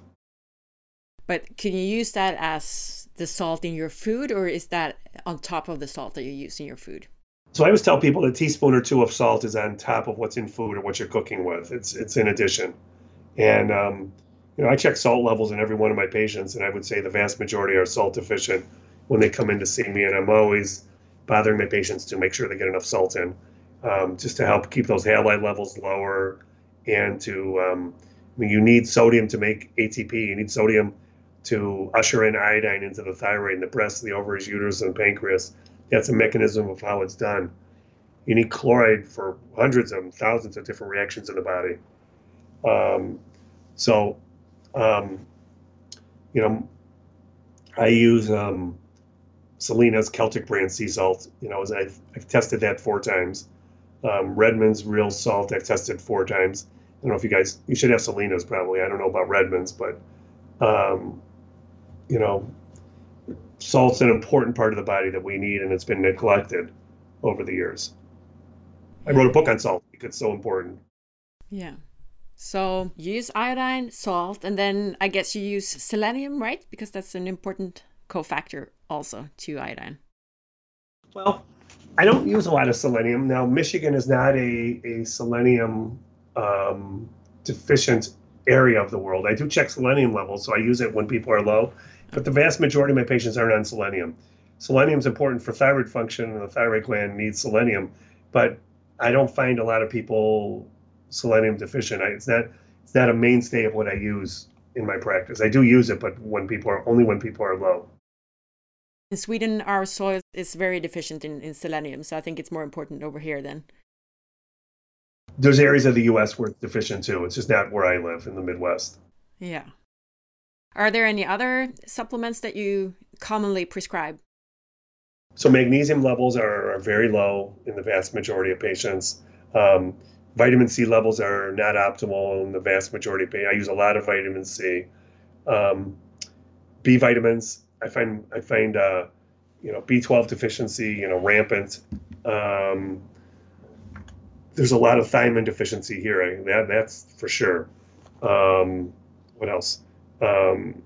But can you use that as the salt in your food, or is that on top of the salt that you use in your food? So I always tell people a teaspoon or two of salt is on top of what's in food or what you're cooking with. It's it's in addition. And, um, you know, I check salt levels in every one of my patients, and I would say the vast majority are salt deficient when they come in to see me. And I'm always bothering my patients to make sure they get enough salt in, um, just to help keep those halide levels lower. And to, um, I mean, you need sodium to make A T P. You need sodium to usher in iodine into the thyroid and the breast, the ovaries, uterus, and pancreas. That's a mechanism of how it's done. You need chloride for hundreds of thousands of different reactions in the body. Um, so, um, you know, I use um, Selena's Celtic brand sea salt. You know, I've, I've tested that four times. Um, Redmond's real salt I've tested four times. I don't know if you guys, you should have Selena's probably. I don't know about Redmond's, but, um, you know, salt's an important part of the body that we need, and it's been neglected over the years. I wrote a book on salt because it's so important. Yeah. So you use iodine, salt, and then I guess you use selenium, right? Because that's an important cofactor also to iodine. Well, I don't use a lot of selenium. Now, Michigan is not a, a selenium um, deficient area of the world. I do check selenium levels, so I use it when people are low. But the vast majority of my patients aren't on selenium. Selenium is important for thyroid function, and the thyroid gland needs selenium. But I don't find a lot of people selenium deficient. I, it's not it's not a mainstay of what I use in my practice. I do use it, but when people are only when people are low. In Sweden, our soil is very deficient in, in selenium, so I think it's more important over here then. There's areas of the U S where it's deficient too. It's just not where I live in the Midwest. Yeah. Are there any other supplements that you commonly prescribe? So magnesium levels are, are very low in the vast majority of patients. Um, vitamin C levels are not optimal in the vast majority of patients. I use a lot of vitamin C. Um, B vitamins, I find I find uh, you know, B twelve deficiency, you know, rampant. Um, there's a lot of thiamine deficiency here. I, that that's for sure. Um, what else? Um,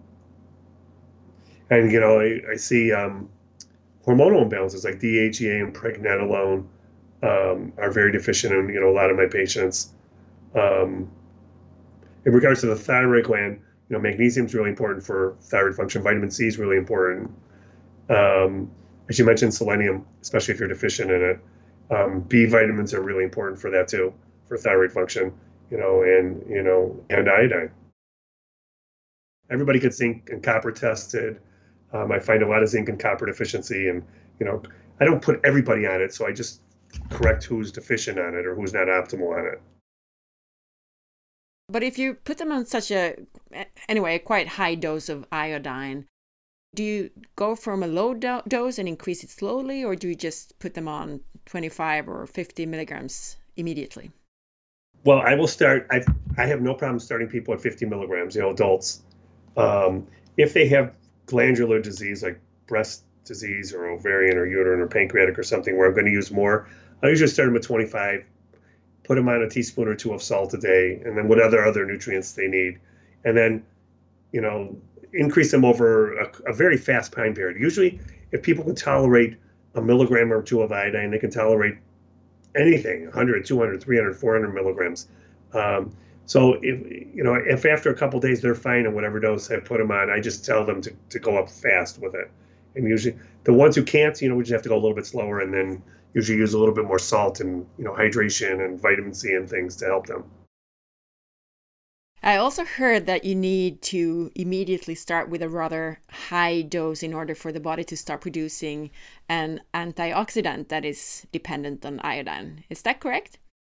and you know, I, I see um, hormonal imbalances like D H E A and pregnenolone um, are very deficient in, you know, a lot of my patients. Um, in regards to the thyroid gland, you know, magnesium is really important for thyroid function. Vitamin C is really important. Um, as you mentioned, selenium, especially if you're deficient in it. Um, B vitamins are really important for that too, for thyroid function. You know, and you know, and iodine. Everybody gets zinc and copper tested. Um, I find a lot of zinc and copper deficiency, and you know, I don't put everybody on it, so I just correct who's deficient on it or who's not optimal on it. But if you put them on such a, anyway, a quite high dose of iodine, Do you go from a low do- dose and increase it slowly, or do you just put them on twenty-five or fifty milligrams immediately? Well, I will start, I I have no problem starting people at fifty milligrams, you know, adults. Um, if they have glandular disease like breast disease or ovarian or uterine or pancreatic or something where I'm going to use more, I usually start them at twenty-five, put them on a teaspoon or two of salt a day, and then what other other nutrients they need. And then, you know, increase them over a, a very fast time period. Usually, if people can tolerate a milligram or two of iodine, they can tolerate anything, one hundred, two hundred, three hundred, four hundred milligrams. Um, so if, you know, if after a couple of days they're fine on whatever dose I put them on, I just tell them to, to go up fast with it. And usually the ones who can't, you know, we just have to go a little bit slower and then usually use a little bit more salt and, you know, hydration and vitamin C and things to help them. I also heard that you need to immediately start with a rather high dose in order for the body to start producing an antioxidant that is dependent on iodine. Is that correct?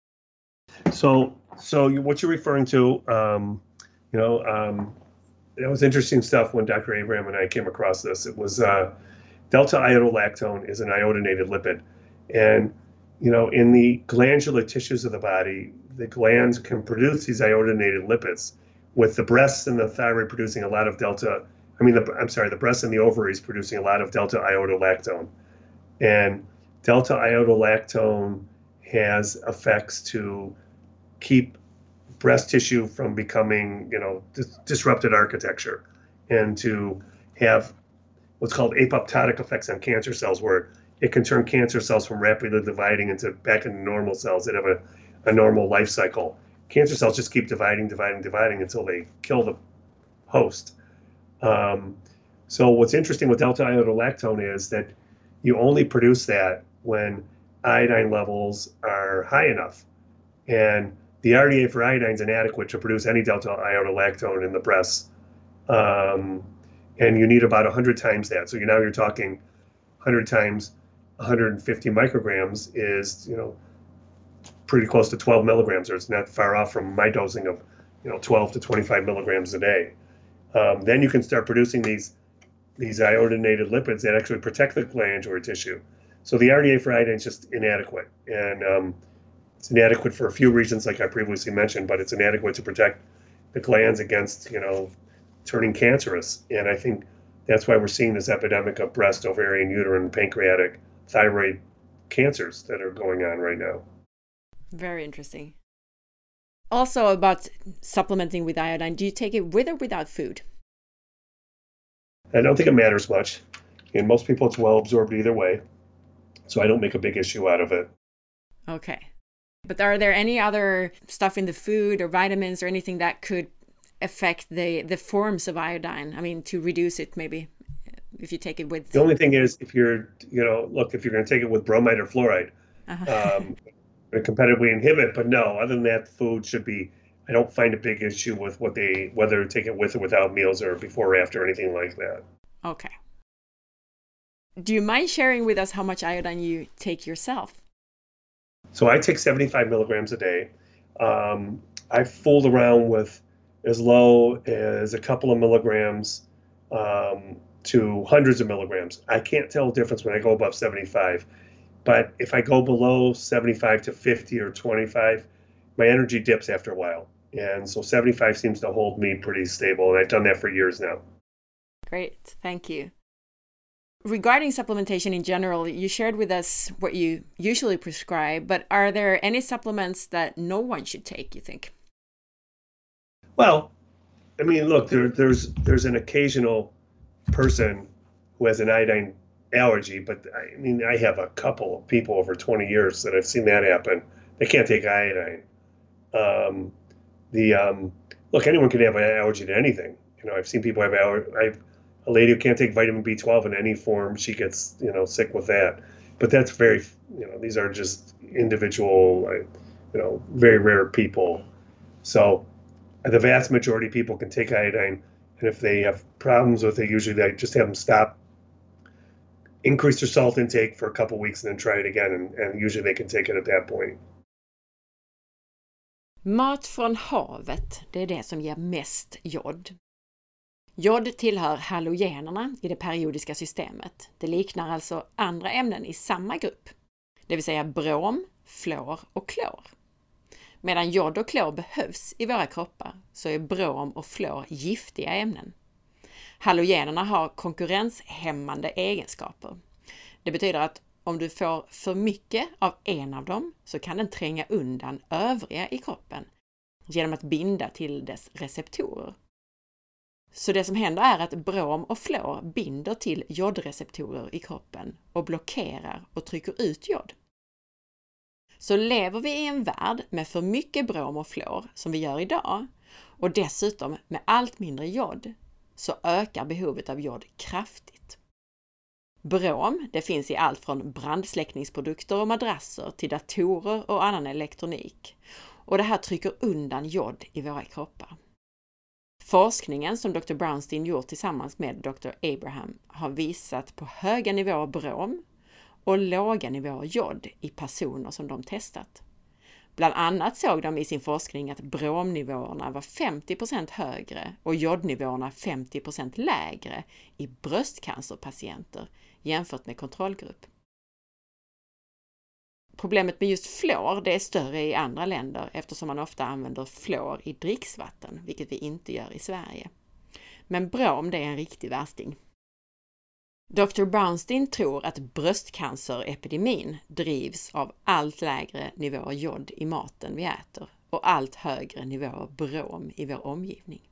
So, so you, what you're referring to, um, you know, um, that was interesting stuff when Doctor Abraham and I came across this. It was uh, delta iodolactone is an iodinated lipid, and you know, in the glandular tissues of the body, the glands can produce these iodinated lipids, with the breasts and the thyroid producing a lot of delta. I mean, the, I'm sorry, the breasts and the ovaries producing a lot of delta iodolactone, and delta iodolactone has effects to keep breast tissue from becoming, you know, dis- disrupted architecture, and to have what's called apoptotic effects on cancer cells, where it can turn cancer cells from rapidly dividing into back into normal cells that have a, a normal life cycle. Cancer cells just keep dividing, dividing, dividing until they kill the host. Um, so what's interesting with delta iodolactone is that you only produce that when iodine levels are high enough. And the R D A for iodine is inadequate to produce any delta iodolactone in the breasts. Um, and you need about one hundred times that. So you now you're talking one hundred times one hundred fifty micrograms is, you know, pretty close to twelve milligrams, or it's not far off from my dosing of, you know, twelve to twenty-five milligrams a day. Um, then you can start producing these these iodinated lipids that actually protect the glandular tissue. So the R D A for iodine is just inadequate, and um, it's inadequate for a few reasons, like I previously mentioned, but it's inadequate to protect the glands against, you know, turning cancerous. And I think that's why we're seeing this epidemic of breast, ovarian, uterine, pancreatic, thyroid cancers that are going on right now. Very interesting. Also about supplementing with iodine, do you take it with or without food? I don't think it matters much. In most people, it's well absorbed either way. So I don't make a big issue out of it. Okay. But are there any other stuff in the food or vitamins or anything that could affect the, the forms of iodine? I mean, to reduce it maybe, if you take it with... The only thing is, if you're, you know, look, if you're going to take it with bromide or fluoride, uh-huh. um, competitively inhibit, but no, other than that, food should be, I don't find a big issue with what they, whether to take it with or without meals or before or after, or anything like that. Okay. Do you mind sharing with us how much iodine you take yourself? So I take seventy-five milligrams a day. Um, I've fooled around with as low as a couple of milligrams um, to hundreds of milligrams. I can't tell the difference when I go above seventy-five. But if I go below seventy-five to fifty or twenty-five, my energy dips after a while. And so seventy-five seems to hold me pretty stable. And I've done that for years now. Great. Thank you. Regarding supplementation in general, you shared with us what you usually prescribe, but are there any supplements that no one should take, you think? Well, I mean, look, there, there's there's an occasional person who has an iodine allergy, but I mean, I have a couple of people over twenty years that I've seen that happen. They can't take iodine. Um, the um, look, anyone can have an allergy to anything. You know, I've seen people have allergy. I've a lady who can't take vitamin B twelve in any form. She gets, you know, sick with that. But that's very, you know, these are just individual, you know, very rare people. So the vast majority of people can take iodine, and if they have problems with it, usually they just have them stop, increase their salt intake for a couple of weeks, and then try it again, and, and usually they can take it at that point. Mat från havet, det är det som ger mest jod. Jod tillhör halogenerna i det periodiska systemet. Det liknar alltså andra ämnen i samma grupp, det vill säga brom, fluor och klor. Medan jod och klor behövs i våra kroppar så är brom och fluor giftiga ämnen. Halogenerna har konkurrenshämmande egenskaper. Det betyder att om du får för mycket av en av dem så kan den tränga undan övriga i kroppen genom att binda till dess receptorer. Så det som händer är att brom och fluor binder till jodreceptorer i kroppen och blockerar och trycker ut jod. Så lever vi i en värld med för mycket brom och fluor som vi gör idag och dessutom med allt mindre jod så ökar behovet av jod kraftigt. Brom, det finns i allt från brandsläckningsprodukter och madrasser till datorer och annan elektronik. Och det här trycker undan jod i våra kroppar. Forskningen som doktor Brownstein gjort tillsammans med doktor Abraham har visat på höga nivåer brom och låga nivåer jod i personer som de testat. Bland annat såg de i sin forskning att bromnivåerna var femtio procent högre och jodnivåerna femtio procent lägre i bröstcancerpatienter jämfört med kontrollgrupp. Problemet med just fluor det är större i andra länder eftersom man ofta använder fluor i dricksvatten, vilket vi inte gör i Sverige. Men brom det är en riktig värsting. doktor Brownstein tror att bröstcancerepidemin drivs av allt lägre nivåer jod i maten vi äter och allt högre nivåer brom i vår omgivning.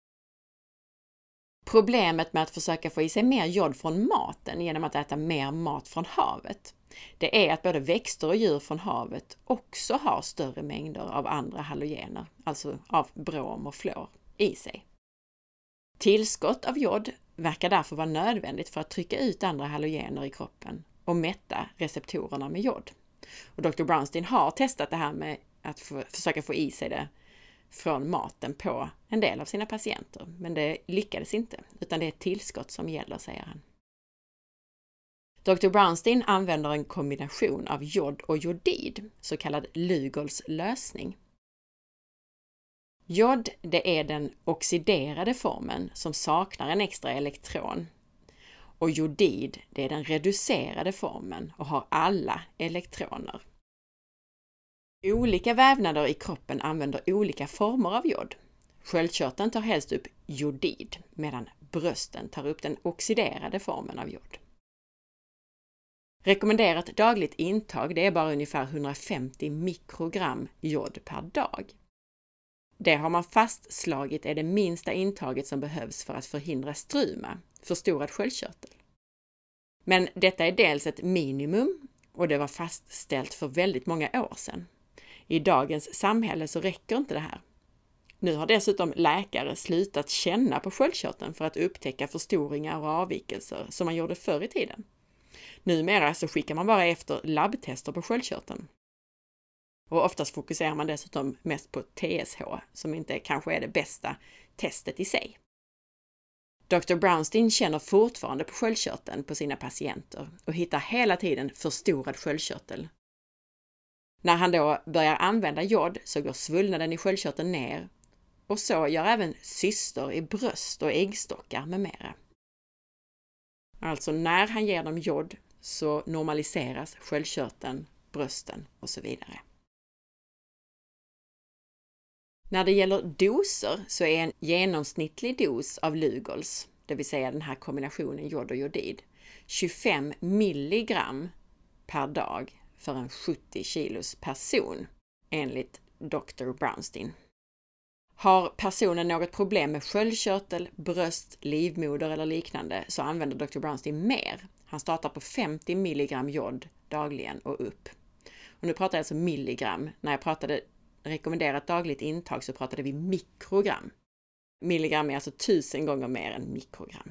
Problemet med att försöka få i sig mer jod från maten genom att äta mer mat från havet, det är att både växter och djur från havet också har större mängder av andra halogener, alltså av brom och fluor, i sig. Tillskott av jod verkar därför vara nödvändigt för att trycka ut andra halogener i kroppen och mätta receptorerna med jod. Och doktor Brownstein har testat det här med att få, försöka få i sig det från maten på en del av sina patienter, men det lyckades inte, utan det är ett tillskott som gäller, säger han. doktor Brownstein använder en kombination av jod och jodid, så kallad Lugols lösning. Jod, det är den oxiderade formen som saknar en extra elektron. Och jodid, det är den reducerade formen och har alla elektroner. Olika vävnader i kroppen använder olika former av jod. Sköldkörteln tar helst upp jodid, medan brösten tar upp den oxiderade formen av jod. Rekommenderat dagligt intag, det är bara ungefär hundrafemtio mikrogram jod per dag. Det har man fastslagit är det minsta intaget som behövs för att förhindra struma, förstorad sköldkörtel. Men detta är dels ett minimum och det var fastställt för väldigt många år sedan. I dagens samhälle så räcker inte det här. Nu har dessutom läkare slutat känna på sköldkörteln för att upptäcka förstoringar och avvikelser som man gjorde förr i tiden. Numera så skickar man bara efter labbtester på sköldkörteln. Och oftast fokuserar man dessutom mest på T S H som inte kanske är det bästa testet i sig. doktor Brownstein känner fortfarande på sköldkörteln på sina patienter och hittar hela tiden förstorad sköldkörtel. När han då börjar använda jod så går svullnaden i sköldkörteln ner och så gör även cyster i bröst och äggstockar med mera. Alltså när han ger dem jod så normaliseras sköldkörteln, brösten och så vidare. När det gäller doser så är en genomsnittlig dos av Lugols, det vill säga den här kombinationen jod och jodid, tjugofem milligram per dag för en sjuttio kilos person, enligt doktor Brownstein. Har personen något problem med sköldkörtel, bröst, livmoder eller liknande så använder doktor Brownstein mer. Han startar på femtio milligram jod dagligen och upp. Och nu pratar jag alltså milligram. När jag pratade rekommenderat dagligt intag så pratade vi mikrogram. Milligram är alltså tusen gånger mer än mikrogram.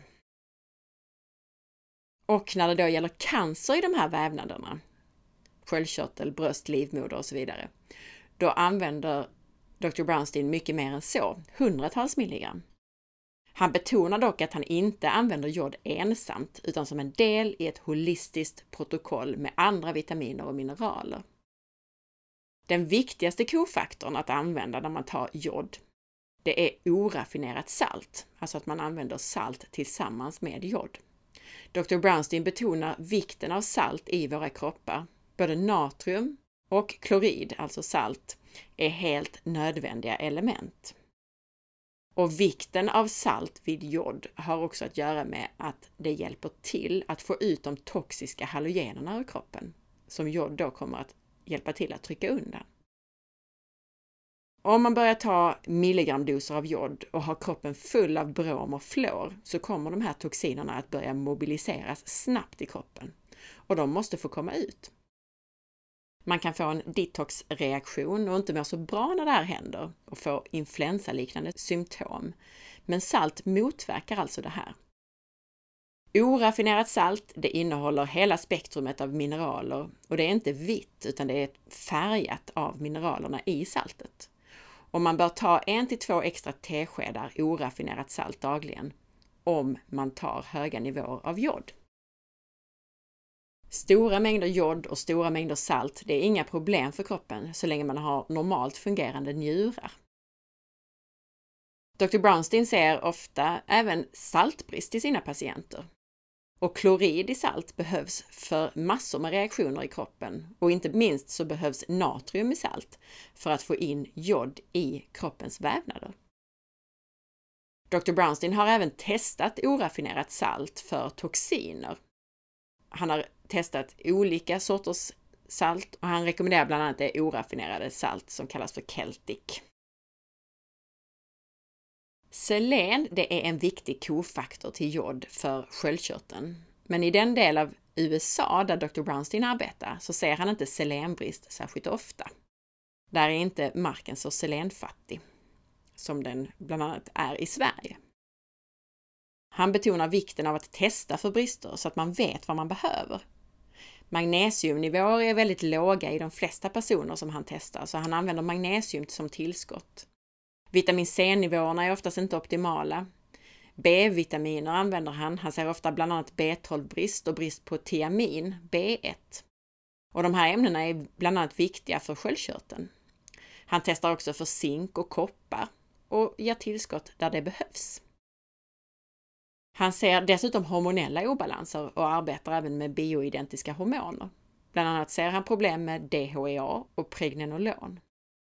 Och när det då gäller cancer i de här vävnaderna, sköldkörtel, bröst, livmoder och så vidare, då använder doktor Brownstein mycket mer än så, hundratals milligram. Han betonar dock att han inte använder jod ensamt utan som en del i ett holistiskt protokoll med andra vitaminer och mineraler. Den viktigaste kofaktorn att använda när man tar jod, Det är oraffinerat salt, alltså att man använder salt tillsammans med jod. doktor Brownstein betonar vikten av salt i våra kroppar. Både natrium och klorid, alltså salt, är helt nödvändiga element. Och vikten av salt vid jod har också att göra med att det hjälper till att få ut de toxiska halogenerna ur kroppen, som jod då kommer att hjälpa till att trycka undan. Om man börjar ta milligramdoser av jod och har kroppen full av brom och fluor, så kommer de här toxinerna att börja mobiliseras snabbt i kroppen och de måste få komma ut. Man kan få en detoxreaktion och inte må så bra när det här händer och få influensaliknande symptom. Men salt motverkar alltså det här. Oraffinerat salt, det innehåller hela spektrumet av mineraler och det är inte vitt utan det är färgat av mineralerna i saltet. Och man bör ta en till två extra teskedar oraffinerat salt dagligen om man tar höga nivåer av jod. Stora mängder jod och stora mängder salt, det är inga problem för kroppen så länge man har normalt fungerande njurar. doktor Brownstein ser ofta även saltbrist i sina patienter. Och klorid i salt behövs för massor med reaktioner i kroppen och inte minst så behövs natrium i salt för att få in jod i kroppens vävnader. doktor Brownstein har även testat oraffinerat salt för toxiner. Han har testat olika sorters salt och han rekommenderar bland annat det oraffinerade salt som kallas för Celtic. Selen, det är en viktig kofaktor till jod för sköldkörteln. Men i den del av U S A där doktor Brownstein arbetar så ser han inte selenbrist särskilt ofta. Där är inte marken så selenfattig som den bland annat är i Sverige. Han betonar vikten av att testa för brister så att man vet vad man behöver. Magnesiumnivåer är väldigt låga i de flesta personer som han testar så han använder magnesium som tillskott. Vitamin C-nivåerna är oftast inte optimala. B-vitaminer använder han. Han ser ofta bland annat B tolv-brist och brist på tiamin, B ett. Och de här ämnena är bland annat viktiga för sköldkörteln. Han testar också för zink och koppar och ger tillskott där det behövs. Han ser dessutom hormonella obalanser och arbetar även med bioidentiska hormoner. Bland annat ser han problem med D H E A och pregnenolon.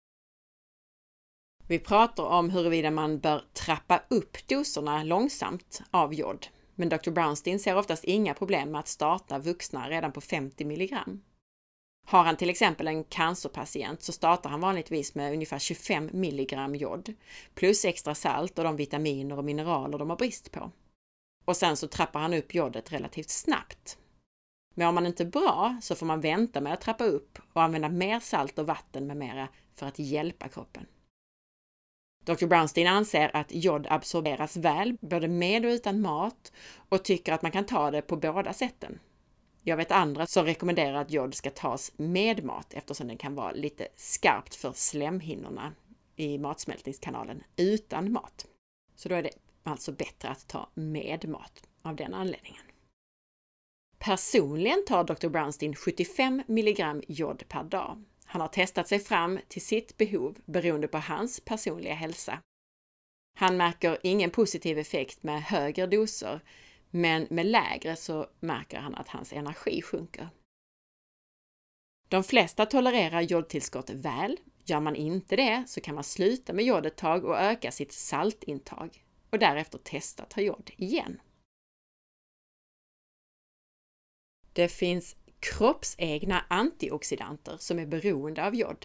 Vi pratar om huruvida man bör trappa upp doserna långsamt av jod. Men doktor Brownstein ser oftast inga problem med att starta vuxna redan på femtio milligram. Har han till exempel en cancerpatient så startar han vanligtvis med ungefär tjugofem milligram jod plus extra salt och de vitaminer och mineraler de har brist på. Och sen så trappar han upp jodet relativt snabbt. Men om man inte är bra så får man vänta med att trappa upp och använda mer salt och vatten med mera för att hjälpa kroppen. doktor Brownstein anser att jod absorberas väl både med och utan mat och tycker att man kan ta det på båda sätten. Jag vet andra som rekommenderar att jod ska tas med mat eftersom den kan vara lite skarpt för slemhinnorna i matsmältningskanalen utan mat. Så då är det alltså bättre att ta med mat av den anledningen. Personligen tar doktor Brownstein sjuttiofem milligram jod per dag. Han har testat sig fram till sitt behov beroende på hans personliga hälsa. Han märker ingen positiv effekt med högre doser, men med lägre så märker han att hans energi sjunker. De flesta tolererar jodtillskott väl. Gör man inte det så kan man sluta med jod ett tag och öka sitt saltintag och därefter testa att ta jod igen. Det finns kroppsegna antioxidanter som är beroende av jod.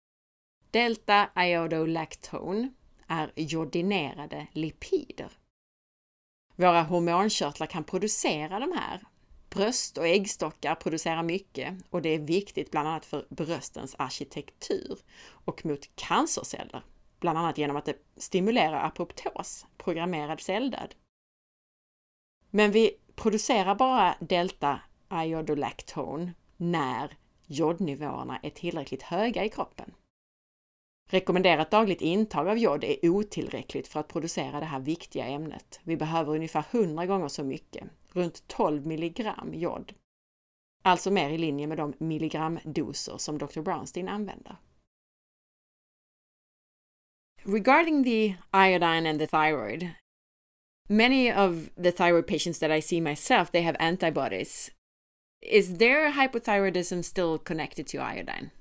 Delta-iodolactone är jodinerade lipider. Våra hormonkörtlar kan producera de här. Bröst och äggstockar producerar mycket och det är viktigt bland annat för bröstens arkitektur och mot cancerceller. Bland annat genom att det stimulerar apoptos, programmerad celldöd. Men vi producerar bara delta-iodolactone när jodnivåerna är tillräckligt höga i kroppen. Rekommenderat dagligt intag av jod är otillräckligt för att producera det här viktiga ämnet. Vi behöver ungefär hundra gånger så mycket, runt tolv milligram jod. Alltså mer i linje med de milligramdoser som doktor Brownstein använder. Regarding the iodine and the thyroid, many of the thyroid patients that I see myself, they have antibodies. Is their hypothyroidism still connected to iodine?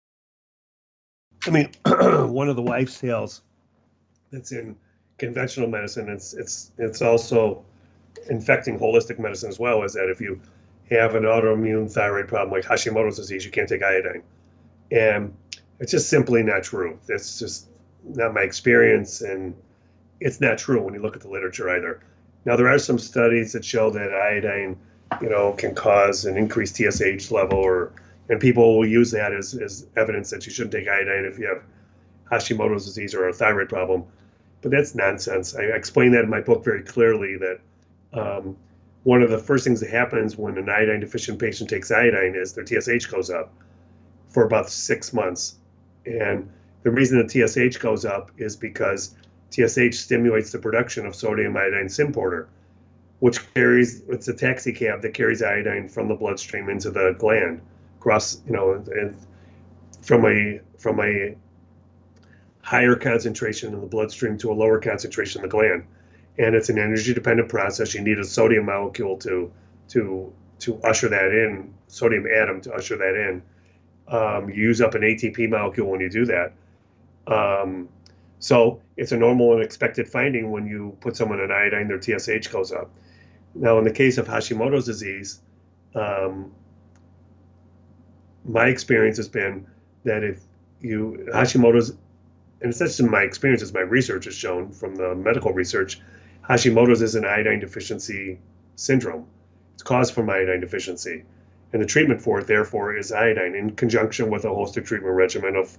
I mean, one of the wives' tales that's in conventional medicine, it's it's it's also infecting holistic medicine as well, is that if you have an autoimmune thyroid problem like Hashimoto's disease, you can't take iodine. And it's just simply not true. That's just not my experience, and it's not true when you look at the literature either. Now, there are some studies that show that iodine, you know, can cause an increased T S H level, or and people will use that as, as evidence that you shouldn't take iodine if you have Hashimoto's disease or a thyroid problem. But that's nonsense. I explain that in my book very clearly, that um, one of the first things that happens when an iodine deficient patient takes iodine is their T S H goes up for about six months. And the reason the T S H goes up is because T S H stimulates the production of sodium iodine symporter, which carries, it's a taxi cab that carries iodine from the bloodstream into the gland, across, you know, and from a from a higher concentration in the bloodstream to a lower concentration in the gland. And it's an energy dependent process. You need a sodium molecule to to to usher that in, sodium atom to usher that in. Um, you use up an A T P molecule when you do that. Um, so it's a normal and expected finding when you put someone on iodine, their T S H goes up. Now, in the case of Hashimoto's disease, um, my experience has been that if you, Hashimoto's, and it's not just my experience, as my research has shown from the medical research, Hashimoto's is an iodine deficiency syndrome. It's caused from iodine deficiency. And the treatment for it, therefore, is iodine in conjunction with a holistic treatment regimen of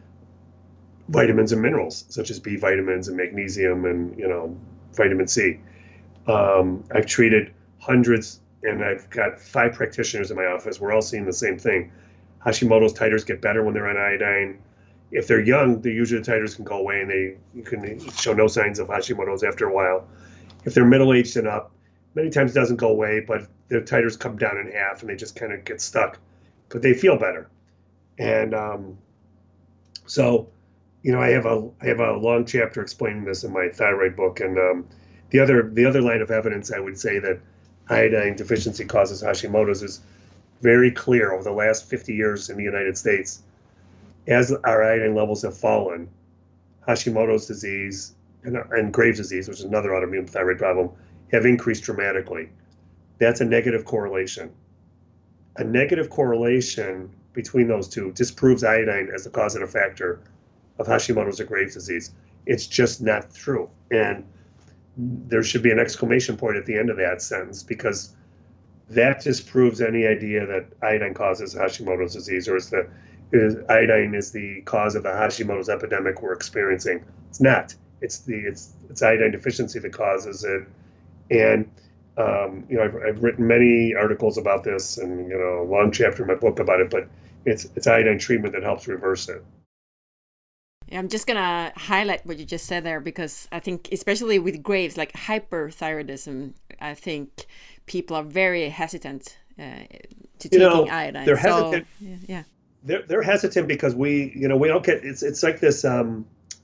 vitamins and minerals, such as B vitamins and magnesium and, you know, vitamin C. Um, I've treated hundreds, and I've got five practitioners in my office. We're all seeing the same thing. Hashimoto's titers get better when they're on iodine. If they're young, the usually the titers can go away, and they you can show no signs of Hashimoto's after a while. If they're middle-aged and up, many times it doesn't go away, but their titers come down in half, and they just kind of get stuck. But they feel better. And um, so, you know, I have a I have a long chapter explaining this in my thyroid book. And um, the other the other line of evidence I would say that iodine deficiency causes Hashimoto's is very clear over the last fifty years in the United States. As our iodine levels have fallen, Hashimoto's disease and, and Graves' disease, which is another autoimmune thyroid problem, have increased dramatically. That's a negative correlation. A negative correlation between those two disproves iodine as the causative factor of Hashimoto's or Graves' disease. It's just not true. And there should be an exclamation point at the end of that sentence, because that disproves any idea that iodine causes Hashimoto's disease, or is the is iodine is the cause of the Hashimoto's epidemic we're experiencing. It's not. It's the it's it's iodine deficiency that causes it. And um, you know, I've, I've written many articles about this, and you know, a long chapter in my book about it. But it's it's iodine treatment that helps reverse it. Yeah, I'm just gonna highlight what you just said there, because I think, especially with Graves, like hyperthyroidism, I think people are very hesitant uh, to taking you know, iodine. They're so, hesitant. Yeah. yeah. They're they're hesitant because we, you know, we don't get. It's it's like this. Um,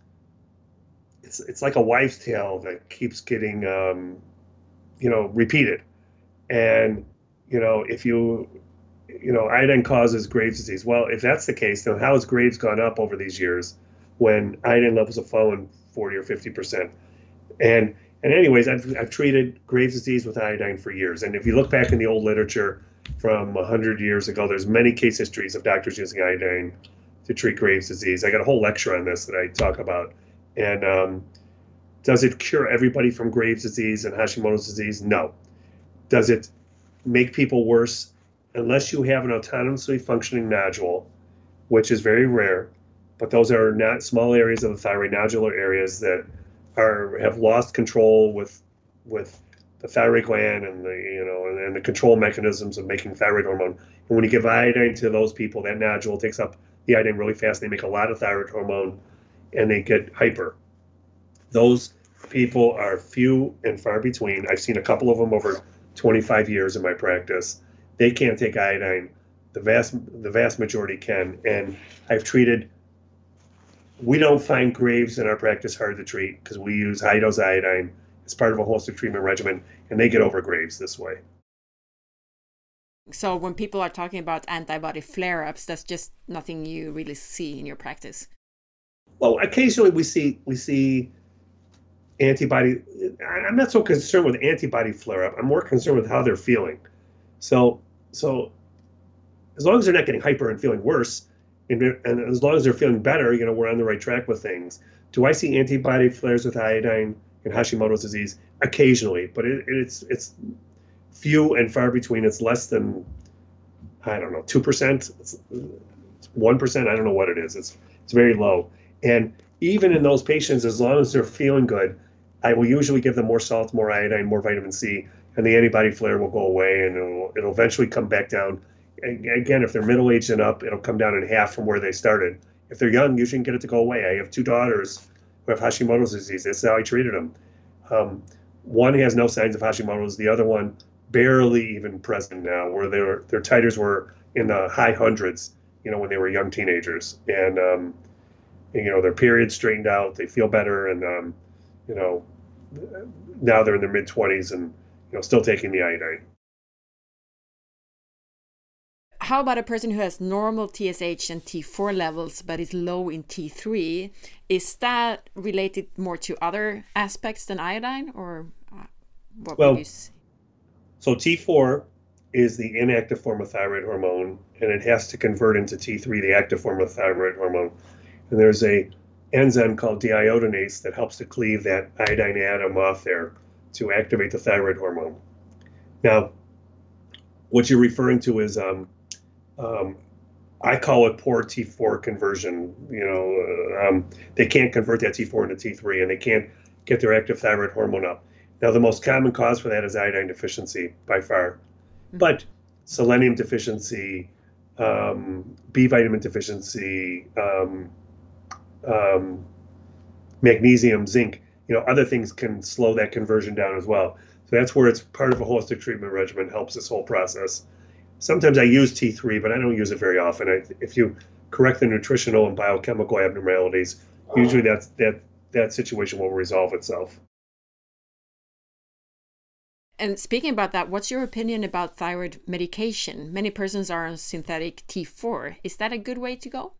it's it's like a wives' tale that keeps getting, um, you know, repeated. And you know, if you, you know, iodine causes Graves' disease. Well, if that's the case, then how has Graves gone up over these years when iodine levels have fallen forty or fifty percent? And and anyways, I've I've treated Graves' disease with iodine for years. And if you look back in the old literature from one hundred years ago, there's many case histories of doctors using iodine to treat Graves' disease. I got a whole lecture on this that I talk about. And um, does it cure everybody from Graves' disease and Hashimoto's disease? No. Does it make people worse? Unless you have an autonomously functioning nodule, which is very rare, but those are not small areas of the thyroid, nodular areas that are have lost control with with the thyroid gland and the you know and, and the control mechanisms of making thyroid hormone. And when you give iodine to those people, that nodule takes up the iodine really fast. They make a lot of thyroid hormone, and they get hyper. Those people are few and far between. I've seen a couple of them over twenty-five years in my practice. They can't take iodine. The vast the vast majority can, and I've treated we don't find Graves in our practice hard to treat because we use high dose iodine as part of a holistic treatment regimen, and they get over Graves this way. So when people are talking about antibody flare-ups, that's just nothing you really see in your practice. Well, occasionally we see we see antibody. I'm not so concerned with antibody flare-up. I'm more concerned with how they're feeling. So so as long as they're not getting hyper and feeling worse, and, and as long as they're feeling better, you know, we're on the right track with things. Do I see antibody flares with iodine in Hashimoto's disease? Occasionally, but it, it's it's few and far between. It's less than, I don't know, two percent. It's one percent. I don't know what it is. It's it's very low. And even in those patients, as long as they're feeling good, I will usually give them more salt, more iodine, more vitamin C, and the antibody flare will go away, and it'll, it'll eventually come back down. Again, if they're middle-aged and up, it'll come down in half from where they started. If they're young, you shouldn't get it to go away. I have two daughters who have Hashimoto's disease. That's how I treated them. Um, one has no signs of Hashimoto's. The other one barely even present now, where their their titers were in the high hundreds, you know, when they were young teenagers. And, um, and you know, their period straightened out. They feel better, and um, you know, now they're in their mid-twenties and you know still taking the iodine. How about a person who has normal T S H and T four levels but is low in T three? Is that related more to other aspects than iodine, or what well, would you say? So T four is the inactive form of thyroid hormone, and it has to convert into T three, the active form of thyroid hormone. And there's a enzyme called deiodinase that helps to cleave that iodine atom off there to activate the thyroid hormone. Now, what you're referring to is um, Um, I call it poor T four conversion. You know, uh, um, they can't convert that T four into T three, and they can't get their active thyroid hormone up. Now, the most common cause for that is iodine deficiency by far, mm-hmm. but selenium deficiency, um, B vitamin deficiency, um, um, magnesium, zinc, you know, other things can slow that conversion down as well. So that's where it's part of a holistic treatment regimen, helps this whole process. Sometimes I use T three, but I don't use it very often. I, if you correct the nutritional and biochemical abnormalities, usually that's, that that situation will resolve itself. And speaking about that, what's your opinion about thyroid medication? Many persons are on synthetic T four. Is that a good way to go?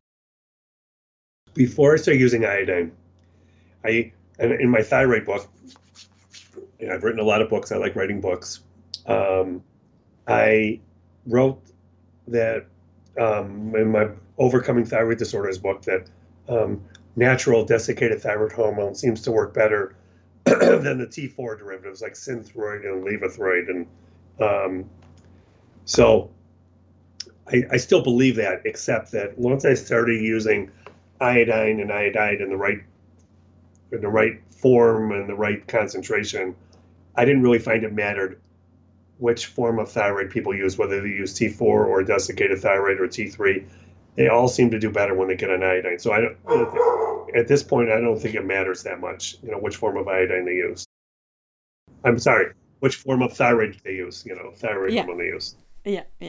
Before I start using iodine, I and in my thyroid book, and I've written a lot of books. I like writing books. Um, I wrote that um, in my Overcoming Thyroid Disorders book that um, natural desiccated thyroid hormone seems to work better than the T four derivatives like Synthroid and Levothyroid. And um, so I, I still believe that, except that once I started using iodine and iodide in the right in the right form and the right concentration, I didn't really find it mattered which form of thyroid people use, whether they use T four or desiccated thyroid or T three. They all seem to do better when they get an iodine. So I don't, at this point, I don't think it matters that much, you know, which form of iodine they use. I'm sorry, which form of thyroid they use, you know, thyroid yeah. hormone they use. Yeah, yeah.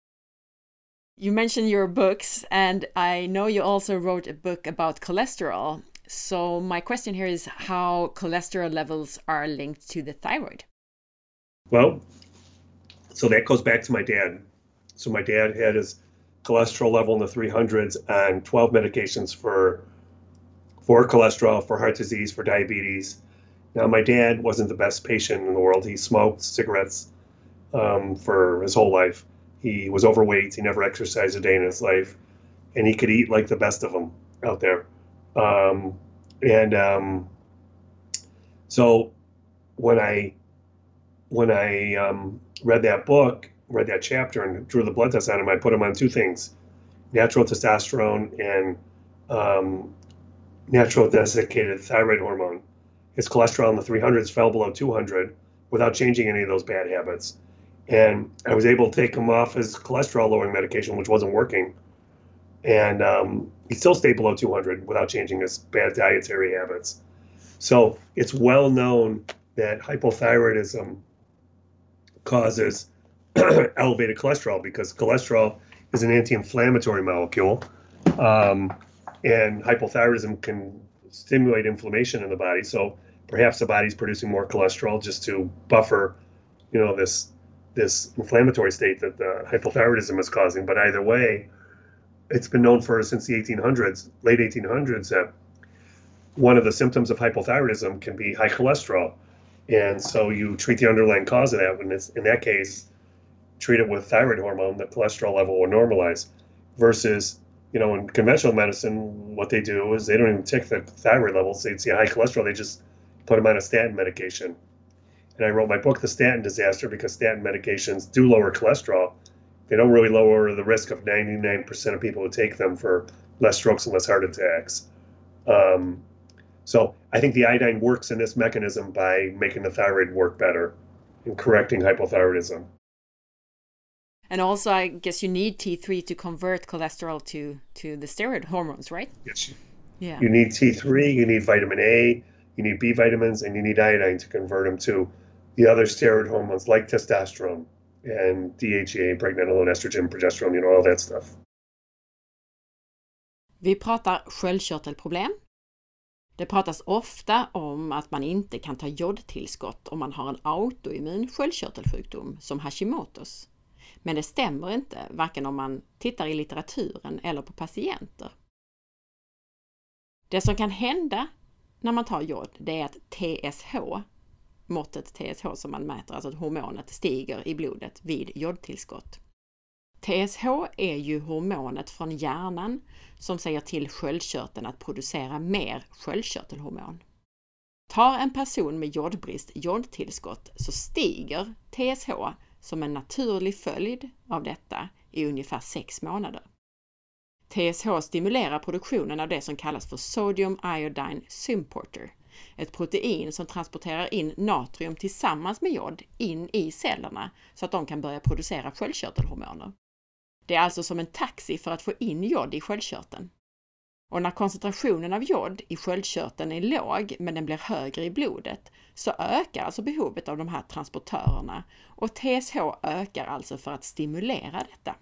You mentioned your books, and I know you also wrote a book about cholesterol. So my question here is how cholesterol levels are linked to the thyroid. Well, so that goes back to my dad. So my dad had his cholesterol level in the three hundreds on twelve medications for for cholesterol, for heart disease, for diabetes. Now, my dad wasn't the best patient in the world. He smoked cigarettes um, for his whole life. He was overweight. He never exercised a day in his life. And he could eat like the best of them out there. Um, and um, so when I when I um, read that book, read that chapter and drew the blood test on him, I put him on two things: natural testosterone and um, natural desiccated thyroid hormone. His cholesterol in the three hundreds fell below two hundred without changing any of those bad habits. And I was able to take him off his cholesterol lowering medication, which wasn't working. And um, he still stayed below two hundred without changing his bad dietary habits. So it's well known that hypothyroidism causes elevated cholesterol because cholesterol is an anti-inflammatory molecule. Um, And hypothyroidism can stimulate inflammation in the body. So perhaps the body's producing more cholesterol just to buffer, you know, this this inflammatory state that the hypothyroidism is causing. But either way, it's been known for since the eighteen hundreds, late eighteen hundreds, that one of the symptoms of hypothyroidism can be high cholesterol. And so you treat the underlying cause of that. When it's, in that case, treat it with thyroid hormone, the cholesterol level will normalize. Versus, you know, in conventional medicine, what they do is they don't even check the thyroid levels. They'd see high cholesterol, they just put them on a statin medication. And I wrote my book, The Statin Disaster, because statin medications do lower cholesterol. They don't really lower the risk of ninety-nine percent of people who take them for less strokes and less heart attacks. Um, so I think the iodine works in this mechanism by making the thyroid work better and correcting hypothyroidism. And also, I guess you need T three to convert cholesterol to, to the steroid hormones, right? Yes. Yeah. You need T three, you need vitamin A, you need B vitamins, and you need iodine to convert them to the other steroid hormones like testosterone and D H E A, pregnenolone, estrogen, progesterone, you know, all that stuff. Vi pratar sköldkörtelproblem. Det pratas ofta om att man inte kan ta jodtillskott om man har en autoimmun sköldkörtelsjukdom som Hashimotos. Men det stämmer inte, varken om man tittar i litteraturen eller på patienter. Det som kan hända när man tar jod, det är att T S H, måttet T S H som man mäter, alltså att hormonet stiger i blodet vid jodtillskott. T S H är ju hormonet från hjärnan som säger till sköldkörteln att producera mer sköldkörtelhormon. Tar en person med jodbrist jodtillskott så stiger T S H som en naturlig följd av detta i ungefär sex månader. T S H stimulerar produktionen av det som kallas för sodium iodine symporter, ett protein som transporterar in natrium tillsammans med jod in i cellerna så att de kan börja producera sköldkörtelhormoner. Det är alltså som en taxi för att få in jod i sköldkörteln. Och när koncentrationen av jod i sköldkörteln är låg men den blir högre i blodet så ökar alltså behovet av de här transportörerna och T S H ökar alltså för att stimulera detta.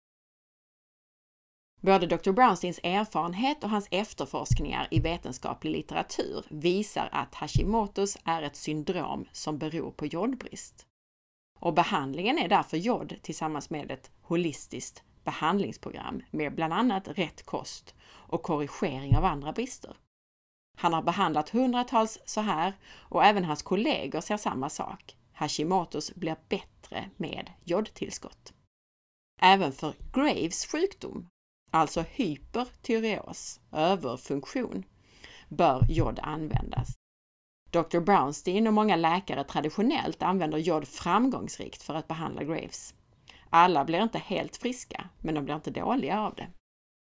Både doktor Brownsteins erfarenhet och hans efterforskningar i vetenskaplig litteratur visar att Hashimotos är ett syndrom som beror på jodbrist. Och behandlingen är därför jod tillsammans med ett holistiskt behandlingsprogram med bland annat rätt kost och korrigering av andra brister. Han har behandlat hundratals så här och även hans kollegor ser samma sak. Hashimotos blir bättre med jodtillskott. Även för Graves sjukdom, alltså hypertyreos, överfunktion, bör jod användas. doktor Brownstein och många läkare traditionellt använder jod framgångsrikt för att behandla Graves. Alla blir inte helt friska, men de blir inte dåliga av det.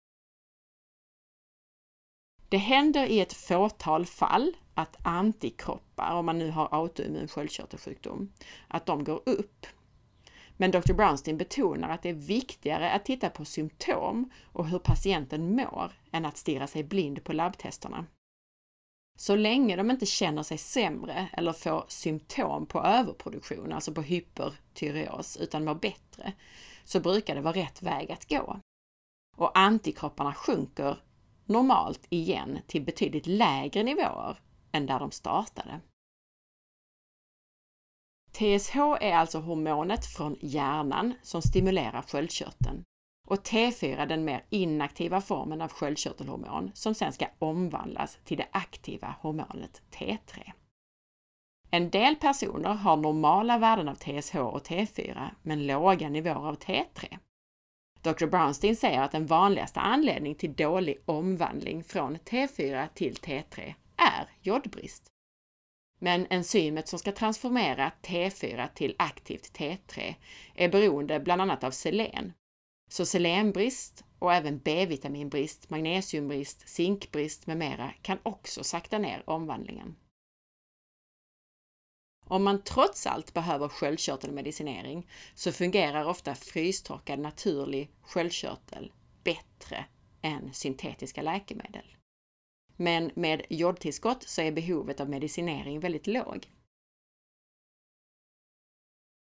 Det händer i ett fåtal fall att antikroppar, om man nu har autoimmun sköldkörtelsjukdom, att de går upp. Men doktor Brownstein betonar att det är viktigare att titta på symptom och hur patienten mår än att stirra sig blind på labbtesterna. Så länge de inte känner sig sämre eller får symptom på överproduktion, alltså på hypertyreos, utan mår bättre, så brukar det vara rätt väg att gå. Och antikropparna sjunker normalt igen till betydligt lägre nivåer än där de startade. T S H är alltså hormonet från hjärnan som stimulerar sköldkörteln och T fyra den mer inaktiva formen av sköldkörtelhormon som sen ska omvandlas till det aktiva hormonet T tre. En del personer har normala värden av T S H och T fyra men låga nivåer av T tre. doktor Brownstein säger att den vanligaste anledningen till dålig omvandling från T fyra till T tre är jodbrist. Men enzymet som ska transformera T fyra till aktivt T tre är beroende bland annat av selen. Så selenbrist och även B-vitaminbrist, magnesiumbrist, zinkbrist med mera kan också sakta ner omvandlingen. Om man trots allt behöver sköldkörtelmedicinering så fungerar ofta frystorkad naturlig sköldkörtel bättre än syntetiska läkemedel. Men med jodtillskott så är behovet av medicinering väldigt låg.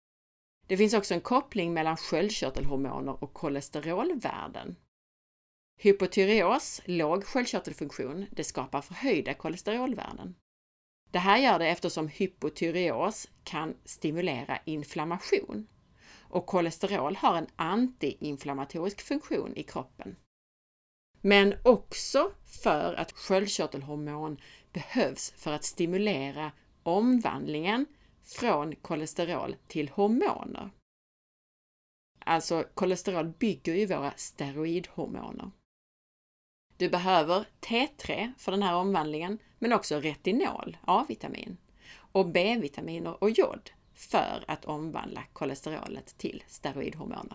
Det finns också en koppling mellan sköldkörtelhormoner och kolesterolvärden. Hypotyreos, låg sköldkörtelfunktion, det skapar förhöjda kolesterolvärden. Det här gör det eftersom hypotyreos kan stimulera inflammation. Och kolesterol har en antiinflammatorisk funktion i kroppen. Men också för att sköldkörtelhormon behövs för att stimulera omvandlingen från kolesterol till hormoner. Alltså kolesterol bygger ju våra steroidhormoner. Du behöver T tre för den här omvandlingen, men också retinol, A-vitamin, och B-vitaminer och jod för att omvandla kolesterolet till steroidhormoner.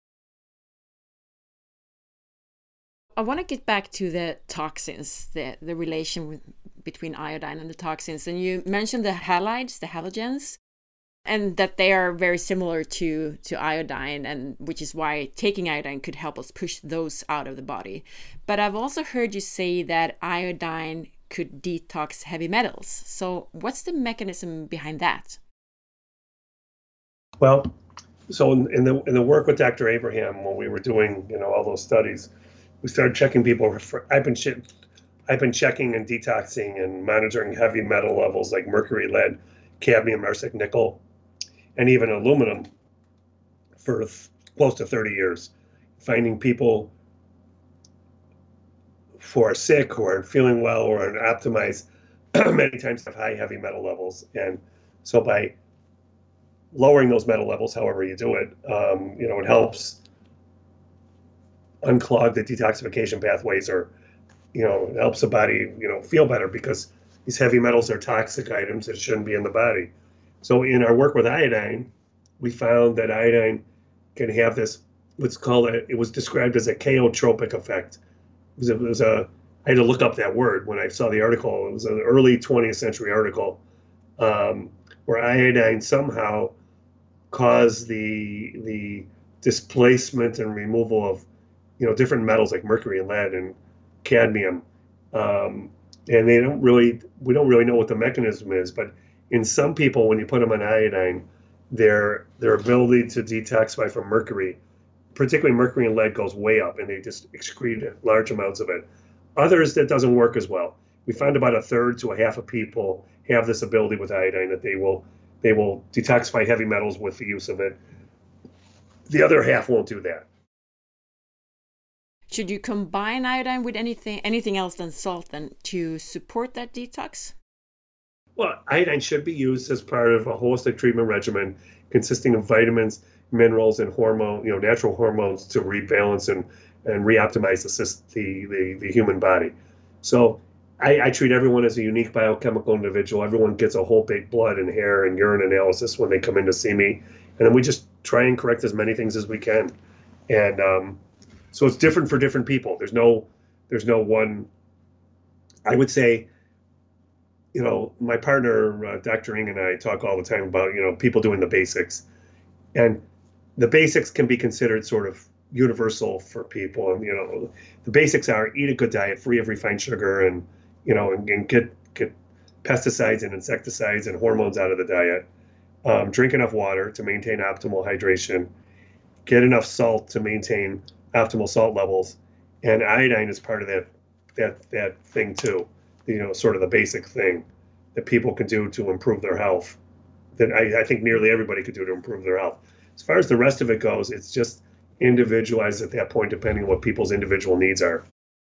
I want to get back to the toxins, the, the relation with, between iodine and the toxins. And you mentioned the halides, the halogens, and that they are very similar to, to iodine, and which is why taking iodine could help us push those out of the body. But I've also heard you say that iodine could detox heavy metals. So what's the mechanism behind that? Well, so in, in the in the work with Doctor Abraham, when we were doing, you know, all those studies, we started checking people for, I've been, I've been checking and detoxing and monitoring heavy metal levels like mercury, lead, cadmium, arsenic, nickel, and even aluminum for th- close to thirty years, finding people who are sick, who are feeling well, or are optimized, many times have high heavy metal levels. And so by lowering those metal levels, however you do it, um, you know, it helps unclog the detoxification pathways, or, you know, it helps the body, you know, feel better, because these heavy metals are toxic items that shouldn't be in the body. So in our work with iodine, we found that iodine can have this, what's called, a, it was described as a chaotropic effect. It was, a, it was a, I had to look up that word when I saw the article. It was an early twentieth century article um, where iodine somehow caused the the displacement and removal of, you know, different metals like mercury and lead and cadmium. Um, and they don't really, we don't really know what the mechanism is, but in some people, when you put them on iodine, their their ability to detoxify from mercury, particularly mercury and lead, goes way up, and they just excrete large amounts of it. Others, that doesn't work as well. We found about a third to a half of people have this ability with iodine, that they will they will detoxify heavy metals with the use of it. The other half won't do that. Should you combine iodine with anything anything else than salt then to support that detox? Well, iodine should be used as part of a holistic treatment regimen consisting of vitamins, minerals, and hormone, you know, natural hormones to rebalance and, and reoptimize the, the, the, the human body. So I, I treat everyone as a unique biochemical individual. Everyone gets a whole big blood and hair and urine analysis when they come in to see me. And then we just try and correct as many things as we can. And um, so it's different for different people. There's no, there's no one, I would say, you know, my partner, uh, Doctor Ng, and I talk all the time about, you know, people doing the basics. And the basics can be considered sort of universal for people. And, you know, the basics are eat a good diet, free of refined sugar, and, you know, and, and get, get pesticides and insecticides and hormones out of the diet. Um, drink enough water to maintain optimal hydration. Get enough salt to maintain optimal salt levels. And iodine is part of that, that, that thing too. You know, sort of the basic thing that people can do to improve their health, that I, I think nearly everybody could do to improve their health. As far as the rest of it goes, it's just individualized at that point, depending on what people's individual needs are.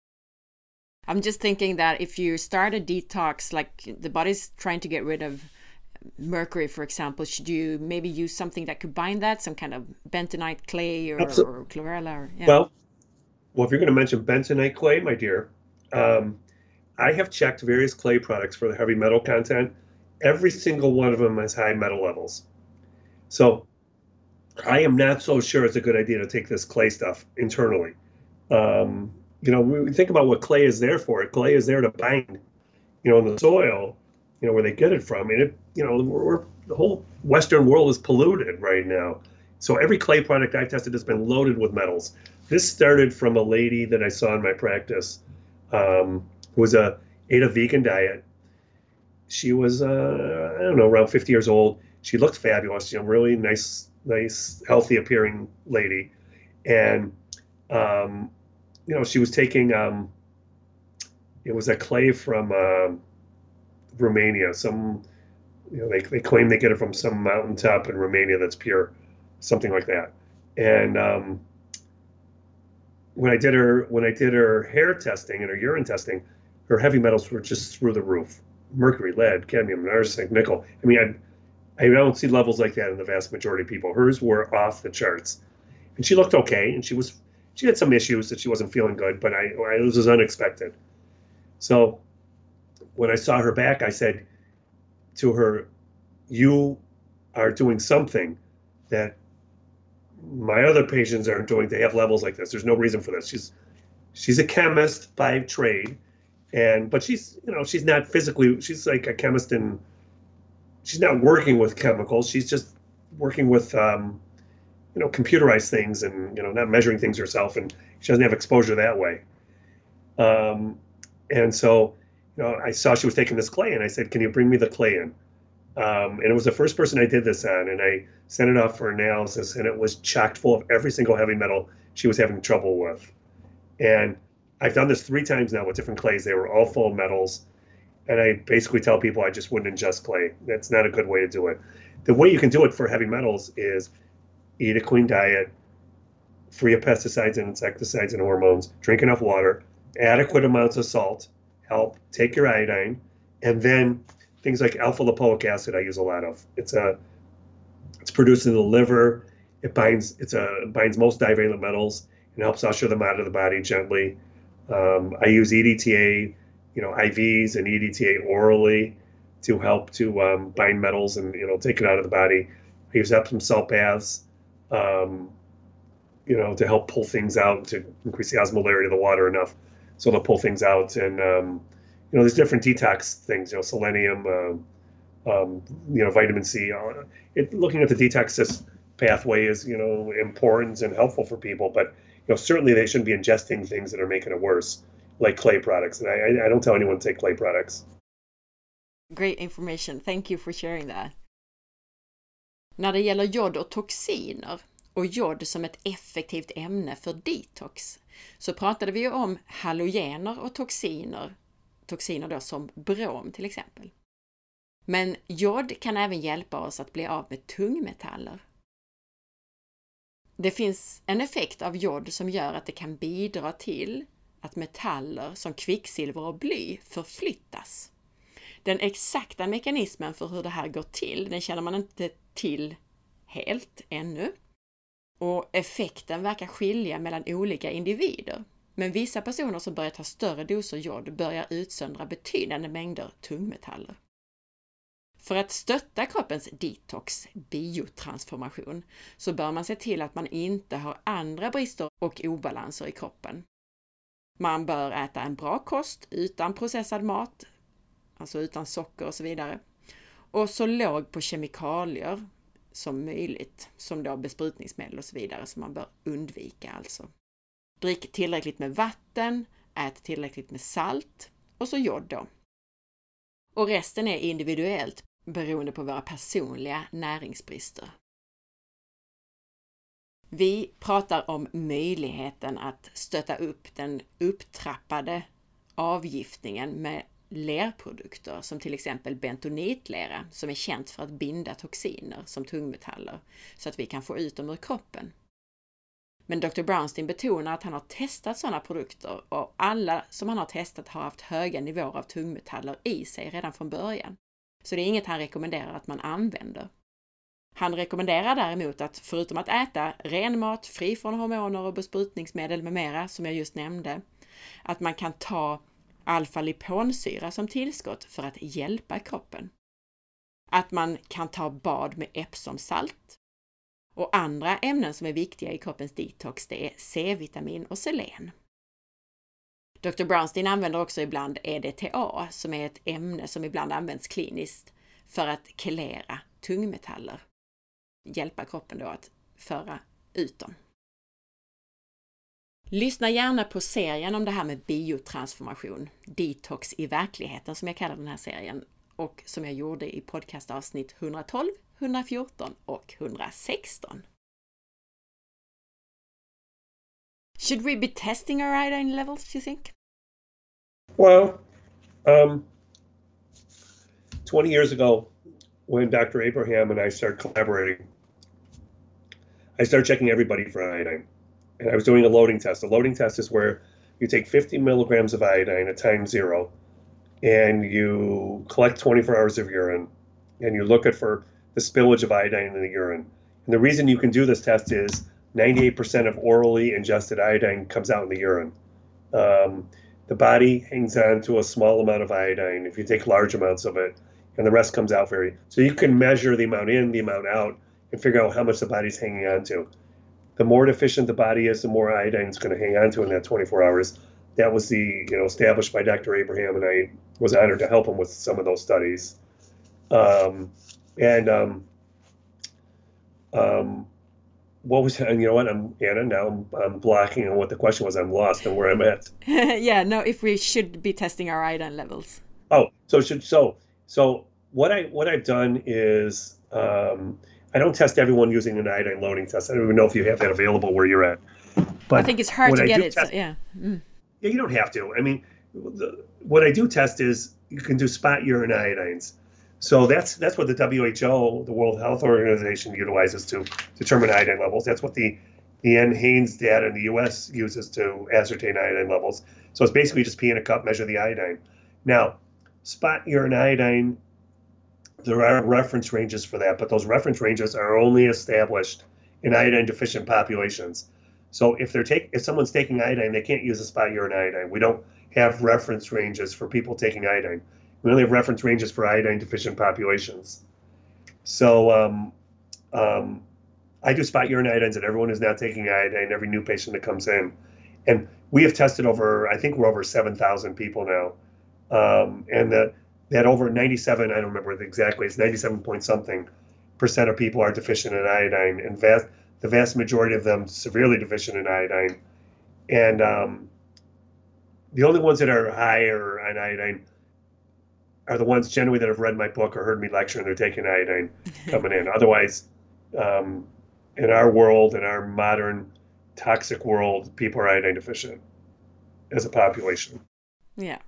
I'm just thinking that if you start a detox, like the body's trying to get rid of mercury, for example, should you maybe use something that could bind that, some kind of bentonite clay or, or chlorella? Or, yeah. Well, well, if you're going to mention bentonite clay, my dear, um, I have checked various clay products for the heavy metal content. Every single one of them has high metal levels. So I am not so sure it's a good idea to take this clay stuff internally. Um, you know, we think about what clay is there for. Clay is there to bind, you know, in the soil, you know, where they get it from. And, it, you know, we're, we're, the whole Western world is polluted right now. So every clay product I tested has been loaded with metals. This started from a lady that I saw in my practice, um, who was a, ate a vegan diet. She was, uh, I don't know, around fifty years old. She looked fabulous, you know, really nice, nice, healthy appearing lady. And um, you know, she was taking, um, it was a clay from uh, Romania. Some, you know, they, they claim they get it from some mountaintop in Romania that's pure, something like that. And um, when I did her when I did her hair testing and her urine testing, her heavy metals were just through the roof: mercury, lead, cadmium, arsenic, nickel. I mean, I I don't see levels like that in the vast majority of people. Hers were off the charts, and she looked okay, and she was she had some issues that she wasn't feeling good, but I, I it was unexpected. So when I saw her back, I said to her, "You are doing something that my other patients aren't doing. They have levels like this. There's no reason for this." She's she's a chemist by trade, and but she's you know she's not physically. She's like a chemist, and she's not working with chemicals. She's just working with um, you know computerized things, and you know not measuring things herself, and she doesn't have exposure that way. Um, and so you know I saw she was taking this clay, and I said, "Can you bring me the clay in?" Um, and it was the first person I did this on, and I sent it off for analysis, and it was chocked full of every single heavy metal she was having trouble with. And I've done this three times now with different clays. They were all full of metals, and I basically tell people I just wouldn't ingest clay. That's not a good way to do it. The way you can do it for heavy metals is eat a clean diet, free of pesticides and insecticides and hormones, drink enough water, adequate amounts of salt, help, take your iodine, and then things like alpha lipoic acid I use a lot of. It's a it's produced in the liver. It binds it's a it binds most divalent metals and helps usher them out of the body gently. Um, I use E D T A, you know, I Vs and E D T A orally to help to um, bind metals and you know take it out of the body. I use Epsom salt baths, um, you know, to help pull things out, to increase the osmolarity of the water enough so they'll pull things out. And um, you know, there's different detox things, you know, selenium, uh, um, you know, vitamin C. Uh, it, looking at the detox pathway is, you know, important and helpful for people, but, you know, certainly they shouldn't be ingesting things that are making it worse, like clay products. And I, I don't tell anyone to take clay products. Great information. Thank you for sharing that. När det gäller jod och toxiner och jod som ett effektivt ämne för detox så pratade vi ju om halogener och toxiner. Toxiner då som brom till exempel. Men jod kan även hjälpa oss att bli av med tungmetaller. Det finns en effekt av jod som gör att det kan bidra till att metaller som kvicksilver och bly förflyttas. Den exakta mekanismen för hur det här går till, den känner man inte till helt ännu. Och effekten verkar skilja mellan olika individer. Men vissa personer som börjar ta större doser jod börjar utsöndra betydande mängder tungmetaller. För att stötta kroppens detox, biotransformation, så bör man se till att man inte har andra brister och obalanser i kroppen. Man bör äta en bra kost utan processad mat, alltså utan socker och så vidare. Och så låg på kemikalier som möjligt, som då besprutningsmedel och så vidare, som man bör undvika alltså. Drick tillräckligt med vatten, ät tillräckligt med salt och så jod då. Och resten är individuellt beroende på våra personliga näringsbrister. Vi pratar om möjligheten att stötta upp den upptrappade avgiftningen med lerprodukter som till exempel bentonitlera som är känt för att binda toxiner som tungmetaller så att vi kan få ut dem ur kroppen. Men doktor Brownstein betonar att han har testat sådana produkter och alla som han har testat har haft höga nivåer av tungmetaller i sig redan från början. Så det är inget han rekommenderar att man använder. Han rekommenderar däremot att förutom att äta ren mat, fri från hormoner och besprutningsmedel med mera som jag just nämnde, att man kan ta alfa-liponsyra som tillskott för att hjälpa kroppen. Att man kan ta bad med Epsom-salt. Och andra ämnen som är viktiga i kroppens detox det är C-vitamin och selen. doktor Brownstein använder också ibland E D T A som är ett ämne som ibland används kliniskt för att kelera tungmetaller. Hjälpa kroppen då att föra ut dem. Lyssna gärna på serien om det här med biotransformation, detox i verkligheten som jag kallar den här serien och som jag gjorde i podcastavsnitt hundratolv, hundrafjorton och hundrasexton. Should we be testing our iodine levels, do you think? Well, um, twenty years ago, when Doctor Abraham and I started collaborating, I started checking everybody for iodine. And I was doing a loading test. A loading test is where you take fifty milligrams of iodine at time zero, and you collect twenty-four hours of urine, and you look at for the spillage of iodine in the urine. And the reason you can do this test is ninety-eight percent of orally ingested iodine comes out in the urine. Um, the body hangs on to a small amount of iodine if you take large amounts of it, and the rest comes out very. So you can measure the amount in, the amount out, and figure out how much the body's hanging on to. The more deficient the body is, the more iodine it's going to hang on to in that twenty-four hours. That was the, you know, established by Doctor Abraham, and I was honored to help him with some of those studies. Um, and um, um, what was, and you know what, I'm Anna. Now I'm, I'm blocking on what the question was. I'm lost on where I'm at. Yeah, no, if we should be testing our iodine levels. Oh, so should so so what I what I've done is. Um, I don't test everyone using an iodine loading test. I don't even know if you have that available where you're at. But I think it's hard to I get it. Test, so, yeah. Mm. Yeah, you don't have to. I mean, the, what I do test is you can do spot urine iodines. So that's that's what the W H O, the World Health Organization, utilizes to determine iodine levels. That's what the the N. Haynes data in the U S uses to ascertain iodine levels. So it's basically just pee in a cup, measure the iodine. Now, spot urine iodine, there are reference ranges for that, but those reference ranges are only established in iodine deficient populations. So if they're take if someone's taking iodine, they can't use a spot urine iodine. We don't have reference ranges for people taking iodine. We only have reference ranges for iodine deficient populations. So um, um, I do spot urine iodines and everyone who's now taking iodine, every new patient that comes in. And we have tested over, I think we're over seven thousand people now. Um, and the that over ninety-seven, I don't remember exactly, it's ninety-seven point something percent of people are deficient in iodine, and vast, the vast majority of them severely deficient in iodine. And um, the only ones that are higher on iodine are the ones generally that have read my book or heard me lecture and they're taking iodine coming in. Otherwise, um, in our world, in our modern toxic world, people are iodine deficient as a population. Yeah.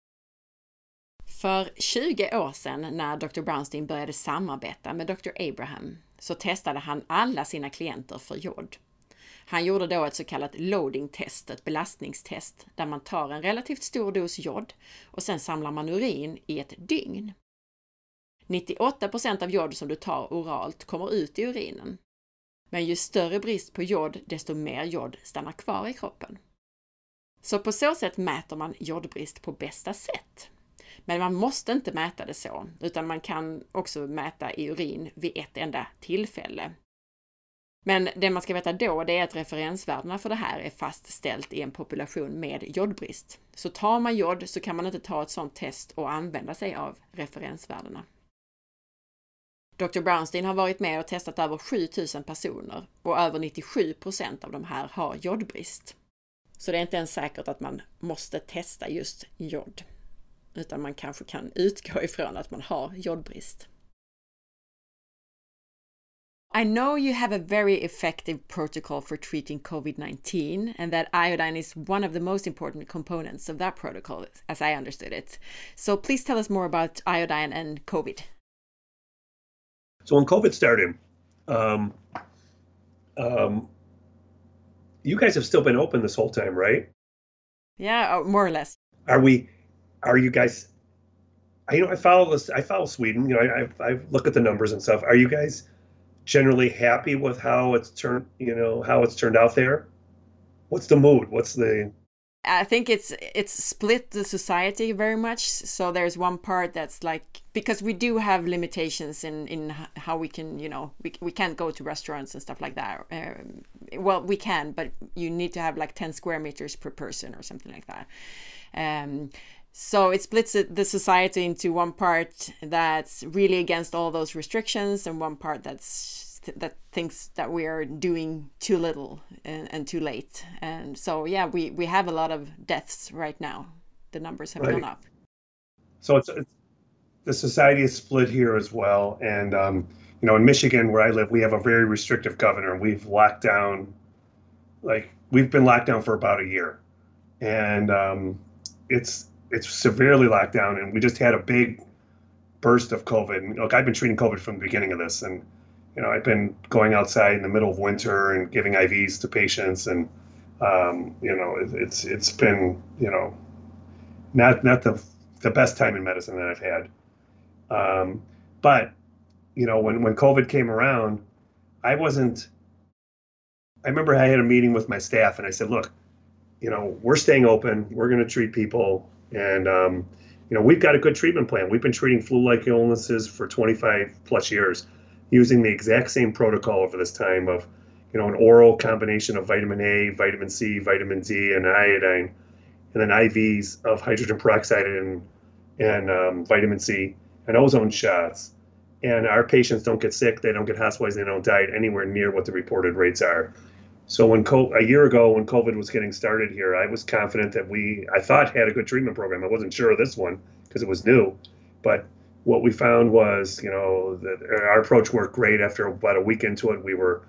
För tjugo år sedan när doktor Brownstein började samarbeta med doktor Abraham så testade han alla sina klienter för jod. Han gjorde då ett så kallat loading test, ett belastningstest, där man tar en relativt stor dos jod och sen samlar man urin i ett dygn. nittioåtta procent av jod som du tar oralt kommer ut i urinen. Men ju större brist på jod, desto mer jod stannar kvar i kroppen. Så på så sätt mäter man jodbrist på bästa sätt. Men man måste inte mäta det så, utan man kan också mäta i urin vid ett enda tillfälle. Men det man ska veta då, det är att referensvärdena för det här är fastställt i en population med jodbrist. Så tar man jod så kan man inte ta ett sådant test och använda sig av referensvärdena. doktor Brownstein har varit med och testat över sju tusen personer och över nittiosju procent av de här har jodbrist. Så det är inte ens säkert att man måste testa just jod, utan man kanske kan utgå ifrån att man har jodbrist. I know you have a very effective protocol for treating covid nineteen and that iodine is one of the most important components of that protocol, as I understood it. So please tell us more about iodine and COVID. So when COVID started, um, um, you guys have still been open this whole time, right? Yeah, more or less. Are we, are you guys, I, you know, I follow this, I follow Sweden, you know, I, I, I look at the numbers and stuff. Are you guys generally happy with how it's turned, you know, how it's turned out there? What's the mood? What's the... I think it's it's split the society very much. So there's one part that's like, because we do have limitations in, in how we can, you know, we, we can't go to restaurants and stuff like that. Um, well, we can, but you need to have like ten square meters per person or something like that. Um, so it splits the society into one part that's really against all those restrictions and one part that's that thinks that we are doing too little and, and too late. And so, yeah, we, we have a lot of deaths right now. The numbers have right. gone up. So it's, it's the society is split here as well. And, um, you know, in Michigan, where I live, we have a very restrictive governor. We've locked down like we've been locked down for about a year, and um, it's it's severely locked down, and we just had a big burst of COVID. And, look, I've been treating COVID from the beginning of this, and you know, I've been going outside in the middle of winter and giving I Vs to patients, and um, you know, it, it's it's been you know not not the the best time in medicine that I've had. Um, but you know, when when COVID came around, I wasn't. I remember I had a meeting with my staff, and I said, "Look, you know, we're staying open. We're going to treat people, and um, you know, we've got a good treatment plan. We've been treating flu-like illnesses for twenty-five plus years, using the exact same protocol over this time of, you know, an oral combination of vitamin A, vitamin C, vitamin D, and iodine, and then I Vs of hydrogen peroxide and and um, vitamin C and ozone shots. And our patients don't get sick, they don't get hospitalized, they don't die anywhere near what the reported rates are. So when co- a year ago, when COVID was getting started here, I was confident that we, I thought, had a good treatment program. I wasn't sure of this one because it was new, but what we found was, you know, that our approach worked great. After about a week into it, we were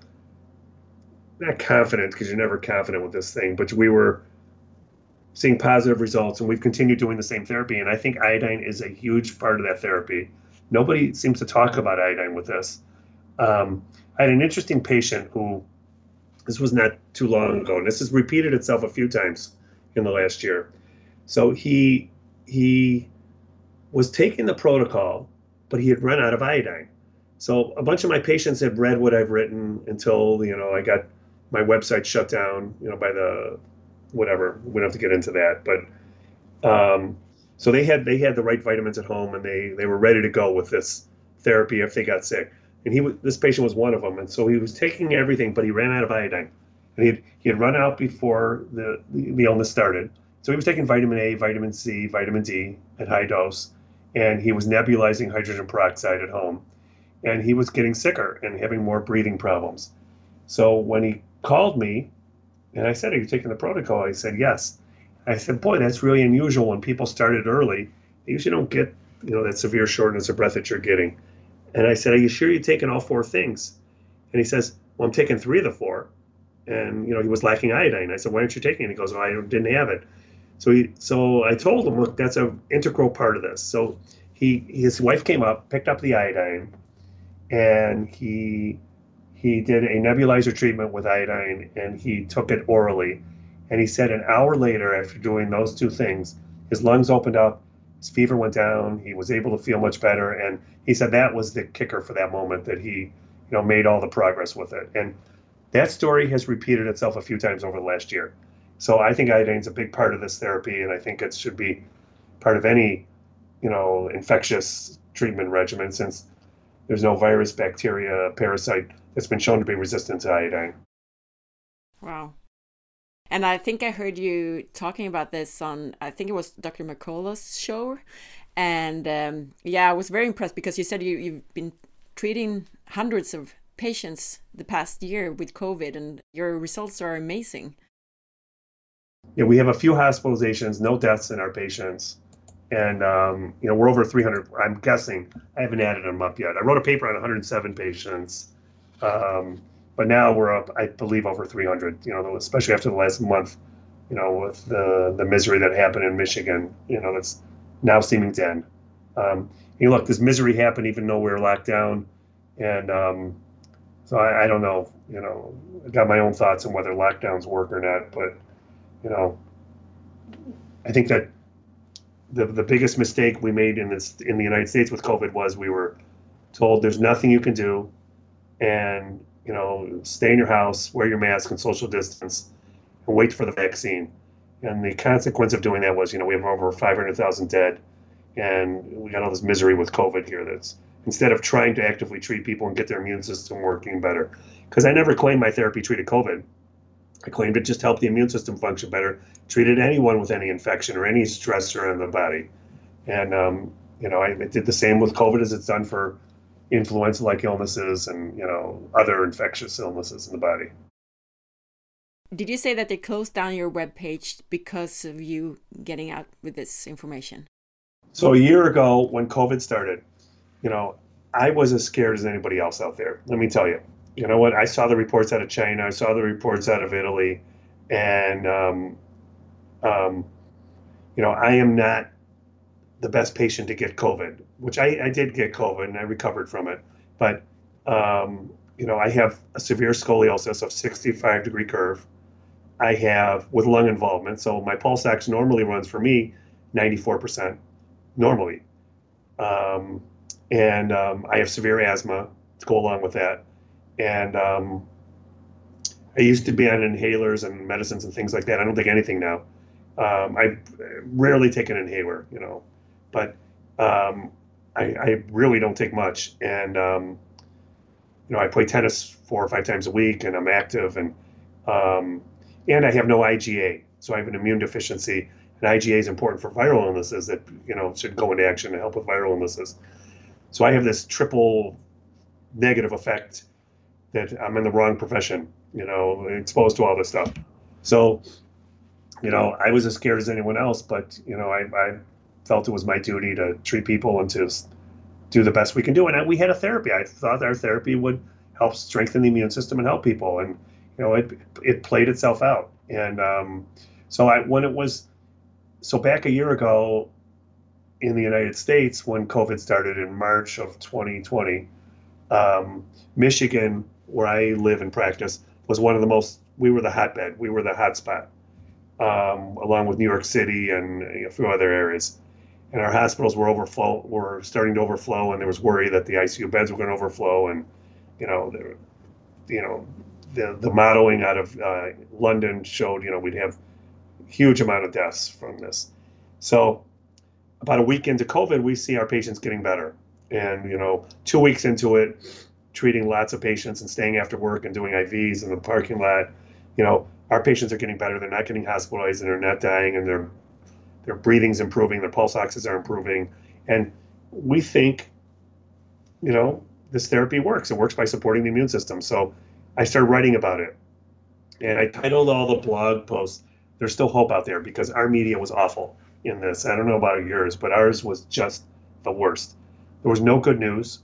not confident, because you're never confident with this thing, but we were seeing positive results, and we've continued doing the same therapy. And I think iodine is a huge part of that therapy. Nobody seems to talk about iodine with this. Um, I had an interesting patient who, this was not too long ago, and this has repeated itself a few times in the last year. So he he was taking the protocol, but he had run out of iodine. So a bunch of my patients had read what I've written until, you know, I got my website shut down, you know, by the whatever. We don't have to get into that, but um, so they had they had the right vitamins at home, and they they were ready to go with this therapy if they got sick. And he was, this patient was one of them, and so he was taking everything, but he ran out of iodine, and he had, he had run out before the the illness started. So he was taking vitamin A, vitamin C, vitamin D at high dose, and he was nebulizing hydrogen peroxide at home, and he was getting sicker and having more breathing problems. So when he called me, and I said, "Are you taking the protocol?" He said, "Yes." I said, "Boy, that's really unusual. When people started early, they usually don't get, you know, that severe shortness of breath that you're getting." And I said, "Are you sure you're taking all four things?" And he says, "Well, I'm taking three of the four." And, you know, he was lacking iodine. I said, "Why aren't you taking it?" He goes, "Well, I didn't have it." So he, so I told him, "Look, that's an integral part of this." So he, his wife came up, picked up the iodine, and he, he did a nebulizer treatment with iodine, and he took it orally. And he said an hour later, after doing those two things, his lungs opened up, his fever went down, he was able to feel much better. And he said that was the kicker for that moment, that he, you know, made all the progress with it. And that story has repeated itself a few times over the last year. So I think iodine is a big part of this therapy, and I think it should be part of any, you know, infectious treatment regimen, since there's no virus, bacteria, parasite that's been shown to be resistant to iodine. Wow. And I think I heard you talking about this on, I think it was Doctor McCullough's show. And um, yeah, I was very impressed, because you said you, you've been treating hundreds of patients the past year with COVID, and your results are amazing. Yeah, we have a few hospitalizations, no deaths in our patients. And, um, you know, we're over three hundred. I'm guessing, I haven't added them up yet. I wrote a paper on one hundred seven patients. Um, But now we're up, I believe, over three hundred, you know, especially after the last month, you know, with the, the misery that happened in Michigan, you know, that's now seeming to end. Um, you know, look, this misery happened even though we were locked down. And um, so I, I don't know, you know, I got my own thoughts on whether lockdowns work or not. But, you know, I think that the, the biggest mistake we made in this in the United States with COVID was we were told there's nothing you can do. And you know, stay in your house, wear your mask and social distance, and wait for the vaccine. And the consequence of doing that was, you know, we have over five hundred thousand dead, and we got all this misery with COVID here. That's, instead of trying to actively treat people and get their immune system working better. Because I never claimed my therapy treated COVID. I claimed it just helped the immune system function better, treated anyone with any infection or any stressor in the body. And, um, you know, I it did the same with COVID as it's done for influenza-like illnesses and, you know, other infectious illnesses in the body. Did you say that they closed down your webpage because of you getting out with this information? So a year ago, when COVID started, you know, I was as scared as anybody else out there. Let me tell you, you know what? I saw the reports out of China. I saw the reports out of Italy, and um, um, you know, I am not the best patient to get COVID, which I, I did get COVID and I recovered from it. But um, you know, I have a severe scoliosis of sixty-five degree curve. I have with lung involvement, so my pulse ox normally runs for me ninety-four percent normally, um, and um, I have severe asthma to go along with that. And um, I used to be on inhalers and medicines and things like that. I don't take anything now. Um, I rarely take an inhaler, you know, but um, I, I really don't take much. And um, you know, I play tennis four or five times a week, and I'm active, and um, and I have no I G A, so I have an immune deficiency. And I G A is important for viral illnesses that you know should go into action to help with viral illnesses. So I have this triple negative effect that I'm in the wrong profession, you know, exposed to all this stuff. So, you know, I was as scared as anyone else, but, you know, I, I felt it was my duty to treat people and to do the best we can do. And I, we had a therapy. I thought our therapy would help strengthen the immune system and help people. And, you know, it, it played itself out. And um, so I, when it was, so back a year ago in the United States, when COVID started in March of twenty twenty, um, Michigan, where I live and practice, was one of the most, we were the hotbed, we were the hotspot, um, along with New York City and a few other areas. And our hospitals were overflow, were starting to overflow, and there was worry that the I C U beds were going to overflow. And, you know, the, you know, the, the modeling out of uh, London showed, you know, we'd have huge amount of deaths from this. So about a week into COVID, we see our patients getting better. And, you know, two weeks into it, treating lots of patients and staying after work and doing I Vs in the parking lot, you know, our patients are getting better. They're not getting hospitalized and they're not dying, and their their breathing's improving, their pulse oxes are improving. And we think, you know, this therapy works. It works by supporting the immune system. So I started writing about it. And I titled all the blog posts, "There's Still Hope Out There," because our media was awful in this. I don't know about yours, but ours was just the worst. There was no good news,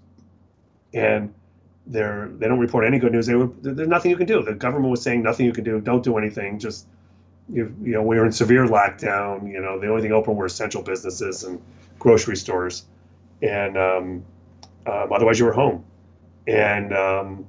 and they're, they don't report any good news. They were, there's nothing you can do. The government was saying nothing you can do. Don't do anything. Just, you, you know, we were in severe lockdown. You know, the only thing open were essential businesses and grocery stores. And um, um, otherwise you were home. And um,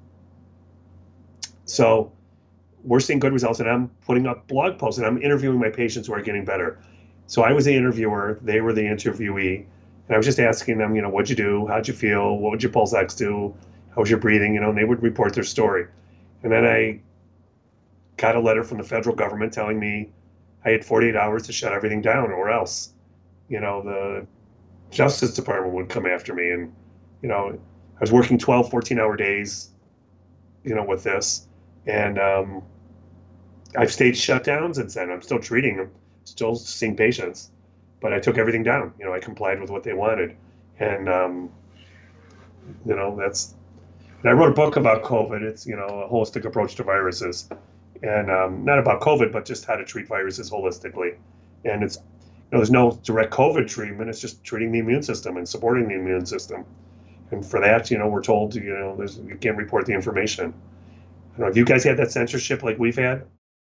so we're seeing good results, and I'm putting up blog posts, and I'm interviewing my patients who are getting better. So I was the interviewer. They were the interviewee. And I was just asking them, you know, what'd you do? How'd you feel? What would your pulse ox do? How was your breathing? You know, and they would report their story. And then I got a letter from the federal government telling me I had forty-eight hours to shut everything down, or else, you know, the Justice Department would come after me. And, you know, I was working twelve, fourteen hour days, you know, with this. And um, I've stayed shut down since then. I'm still treating them, still seeing patients. But I took everything down. You know, I complied with what they wanted. And, um, you know, that's, and I wrote a book about COVID. It's, you know, a holistic approach to viruses. And um, not about COVID, but just how to treat viruses holistically. And it's, you know, there's no direct COVID treatment. It's just treating the immune system and supporting the immune system. And for that, you know, we're told, you know, there's, you can't report the information. I don't know, have you guys had that censorship like we've had?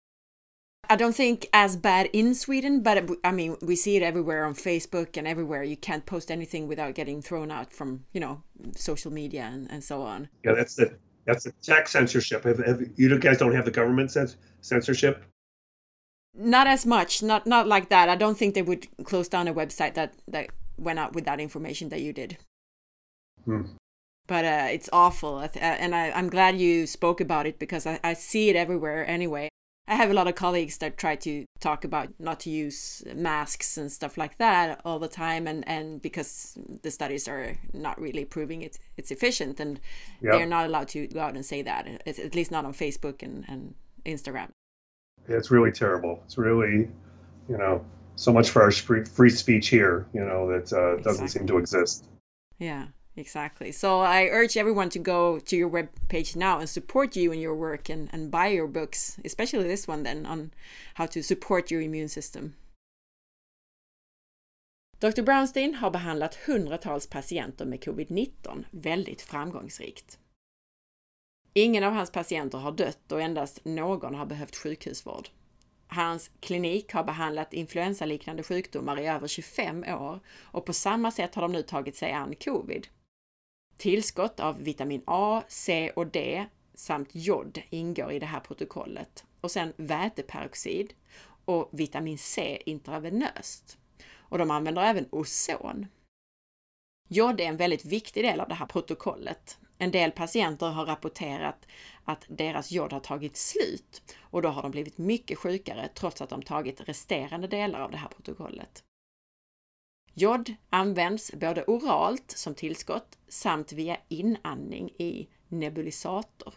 I don't think as bad in Sweden, but I mean, we see it everywhere on Facebook and everywhere. You can't post anything without getting thrown out from, you know, social media and, and so on. Yeah, that's the that's the tech censorship. Have, have, you guys don't have the government censorship? Not as much, not not like that. I don't think they would close down a website that, that went out with that information that you did. Hmm. But uh, it's awful. And I, I'm glad you spoke about it, because I, I see it everywhere anyway. I have a lot of colleagues that try to talk about not to use masks and stuff like that all the time, and, and because the studies are not really proving it, it's efficient, and yep. They're not allowed to go out and say that, it's, at least not on Facebook and, and Instagram. It's really terrible. It's really, you know, so much for our free speech here, you know, that uh, doesn't exactly. seem to exist. Yeah. Exactly. So I urge everyone to go to your webpage now and support you in your work, and, and buy your books, especially this one then, on how to support your immune system. doktor Brownstein har behandlat hundratals patienter med covid nitton väldigt framgångsrikt. Ingen av hans patienter har dött och endast någon har behövt sjukhusvård. Hans klinik har behandlat influensaliknande sjukdomar i över tjugofem år och på samma sätt har de nu tagit sig an covid. Tillskott av vitamin A, C och D samt jod ingår i det här protokollet och sen väteperoxid och vitamin C intravenöst. Och de använder även ozon. Jod är en väldigt viktig del av det här protokollet. En del patienter har rapporterat att deras jod har tagit slut och då har de blivit mycket sjukare trots att de tagit resterande delar av det här protokollet. Jod används både oralt som tillskott samt via inandning i nebulisator.